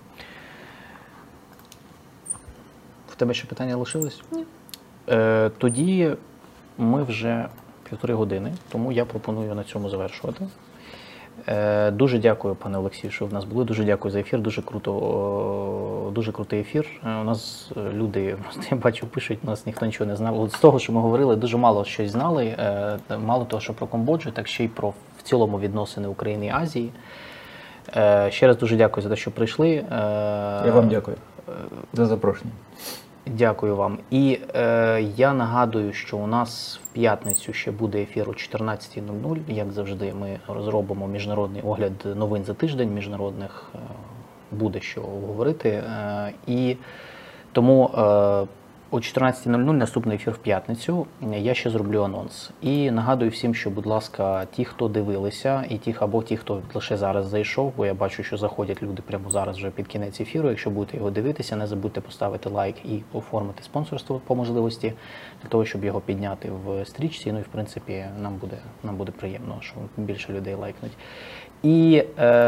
В тебе ще питання лишились? Ні. Тоді ми вже 1,5 години, тому я пропоную на цьому завершувати. Дуже дякую, пане Олексію, що в нас були. Дуже дякую за ефір. Дуже крутий ефір. У нас люди, я бачу, пишуть, у нас ніхто нічого не знав. От з того, що ми говорили, дуже мало щось знали. Мало того, що про Камбоджу, так ще й про в цілому відносини України і Азії. Ще раз дуже дякую за те, що прийшли. Я вам дякую за запрошення. Дякую вам. І я нагадую, що у нас в п'ятницю ще буде ефір о 14:00. Як завжди, ми розробимо міжнародний огляд новин за тиждень міжнародних. Буде що говорити. І тому о 14:00 наступний ефір в п'ятницю. Я ще зроблю анонс. І нагадую всім, що, будь ласка, ті, хто дивилися, і ті, хто лише зараз зайшов, бо я бачу, що заходять люди прямо зараз вже під кінець ефіру. Якщо будете його дивитися, не забудьте поставити лайк і оформити спонсорство по можливості, для того, щоб його підняти в стрічці. Ну і, в принципі, нам буде приємно, що більше людей лайкнуть. І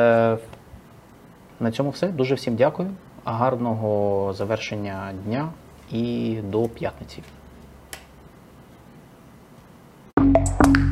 на цьому все. Дуже всім дякую. Гарного завершення дня. І до п'ятниці.